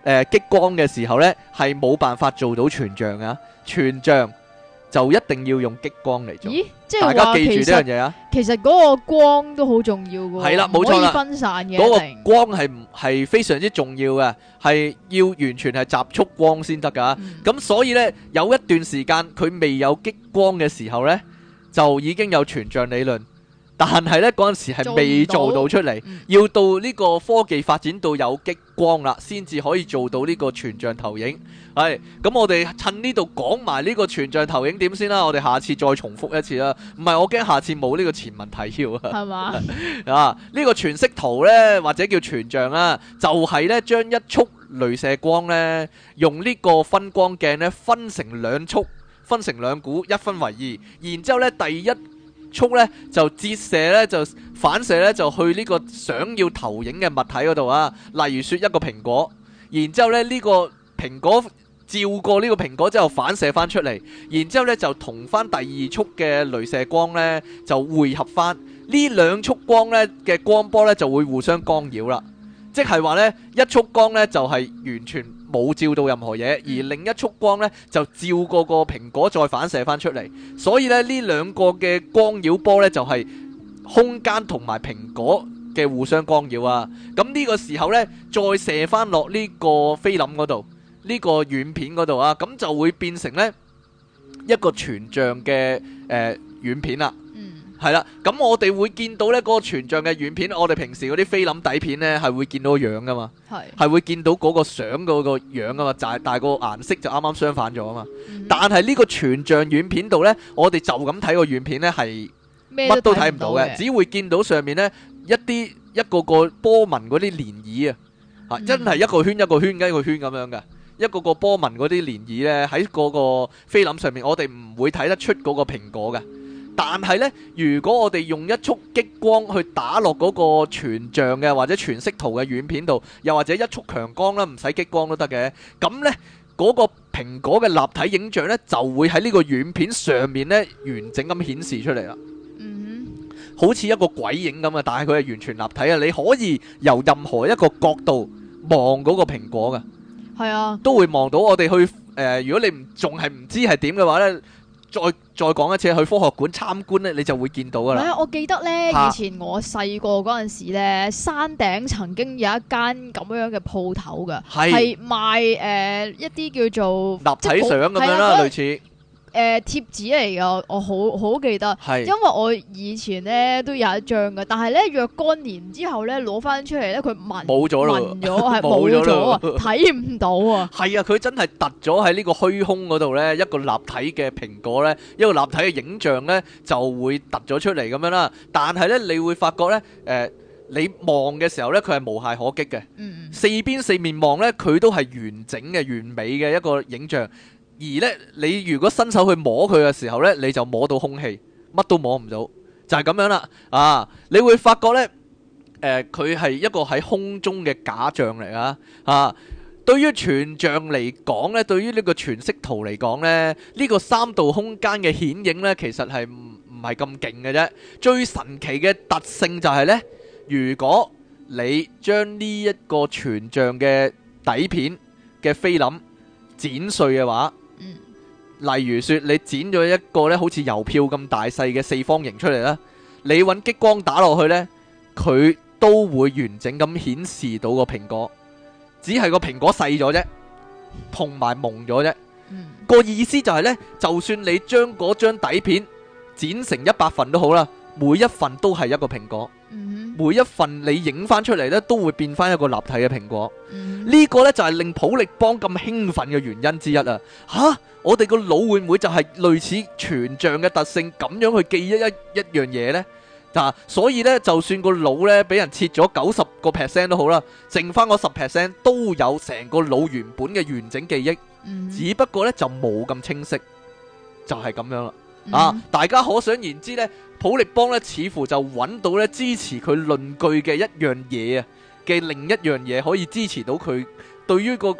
激光嘅時候呢，係冇辦法做到全像啊，全像就一定要用激光嚟做。 咦，即係大家記住呢樣嘢啊！ 其實嗰個光都好重要嘅， 係啦，冇錯啦， 唔可以分散嘅。 嗰個光係非常之重要嘅，係要完全係集束光先得噶。咁所以呢，有一段時間佢未有激光嘅時候呢，就已經有全像理論。但係呢，嗰陣時係未做到出嚟，要到呢個科技發展到有激光啦，先至可以做到呢個全像投影。係咁，我哋趁呢度講埋呢個全像投影點先啦。我哋下次再重複一次啦。唔係，我驚下次冇呢個前文提要啊。係嘛？啊，呢個全息圖呢，或者叫全像啦，就係呢將一束鐳射光呢，用呢個分光鏡呢分成兩束，分成兩股，一分為二，然之後呢第一束咧就折射咧就反射咧就去呢個想要投影嘅物體嗰度啊，例如說一個蘋果，然之後咧呢個蘋果照過呢個蘋果之後反射翻出嚟，然之後咧就同翻第二束嘅鐳射光咧就匯合翻，呢兩束光咧嘅光波咧就會互相干擾啦，即係話咧一束光咧就係完全冇照到任何嘢，而另一束光呢就照過個蘋果再反射翻出嚟，所以呢兩個嘅光擾波呢就係空間同埋蘋果嘅互相干擾啊。咁呢個時候呢，再射翻落呢個菲林嗰度，呢個軟片嗰度啊，咁就會變成呢一個全像嘅軟片啦。係啦，咁我哋會見到呢嗰個全像嘅軟片，我哋平時嗰啲菲林底片呢係會見到個樣噶嘛，係會見到嗰個相嗰個樣噶嘛，但係個顏色就啱啱相反咗啊嘛。但係呢個全像軟片度呢，我哋就咁睇個軟片呢係乜都睇唔到嘅，只會見到上面呢一個個波紋嗰啲漣漪啊，真係一個圈一個圈一個圈咁樣嘅，一個個波紋嗰啲漣漪呢喺嗰個菲林上面，我哋唔會睇得出嗰個蘋果嘅。但係呢，如果我哋用一束激光去打落嗰個全像嘅或者全息圖嘅軟片度，又或者一束強光啦，唔使激光都得嘅，咁呢，嗰個蘋果嘅立體影像呢，就會喺呢個軟片上面呢完整咁顯示出嚟啦。好似一個鬼影咁啊，但係佢係完全立體啊！你可以由任何一個角度望嗰個蘋果嘅，係啊，都會望到。我哋去如果你仲係唔知係點嘅話呢，再講一次，去科學館參觀呢，你就會見到噶啦。係啊，我記得呢，以前我細個嗰陣時呢，山頂曾經有一間咁樣嘅鋪頭噶，係賣一啲叫做立體相咁樣啦，類似。貼紙嚟噶，我好記得，因為我以前咧都有一張噶，但係咧若干年之後咧攞翻出嚟咧，佢冇咗啦，紋咗係冇咗啊，睇唔到啊。係啊，佢真係突咗喺呢個虛空嗰度咧，一個立體嘅蘋果咧，一個立體嘅影像咧就會突咗出嚟咁樣啦。但係咧，你會發覺咧，你望嘅時候咧，佢係無懈可擊嘅，四邊四面望咧，佢都係完整嘅、完美嘅一個影像。而咧，你如果伸手去摸佢嘅時候咧，你就摸到空氣，乜都摸唔到，就係咁樣啦。啊，你會發覺咧，佢係一個喺空中嘅假象嚟啊。啊，對於全像嚟講咧，對於呢個全息圖嚟講咧，呢個三度空間嘅顯影咧，其實係唔係咁勁嘅啫。最神奇嘅特性就係咧，如果你將呢一個全像嘅底片嘅菲林剪碎嘅話，例如說你剪咗一個咧好似郵票咁大細嘅四方形出嚟啦，你揾激光打落去呢，佢都會完整咁顯示到個蘋果，只係個蘋果細咗啫，同埋蒙咗啫。個意思就係呢，就算你將嗰張底片剪成100份都好啦，每一份都係一個蘋果，每一份你影翻出嚟呢，都會變翻一個立體嘅蘋果。呢個呢，就係令普力邦咁興奮嘅原因之一啊！吓，我哋個腦會唔會就係類似全像嘅特性咁樣去記一樣嘢呢？所以呢，就算個腦呢俾人切咗90% 都好啦，剩翻嗰10% 都有成個腦原本嘅完整記憶，只不過呢就冇咁清晰，就係咁樣啦。大家可想而知呢，普力邦呢似乎就揾到呢支持佢論據嘅一樣嘢啊！嘅另一樣嘢可以支持到佢對於嗰個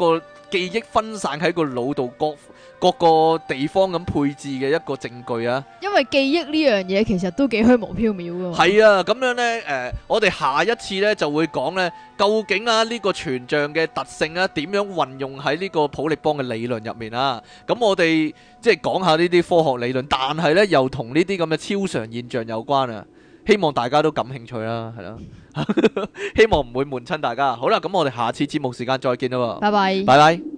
記憶分散喺個腦度各個地方咁配置嘅一個證據啊。 因為記憶呢樣嘢其實都幾虛無縹緲噶。 係啊，咁樣呢，我哋下一次呢就會講呢，究竟啊呢個全像嘅特性啊點樣運用喺呢個普利邦嘅理論入面啊。咁我哋即係講下呢啲科學理論，但係呢又同呢啲咁嘅超常現象有關啊。希望大家都感興趣啦，係啦，希望唔會悶親大家。好啦，咁我哋下次節目時間再見啦喎， 拜拜。 拜拜。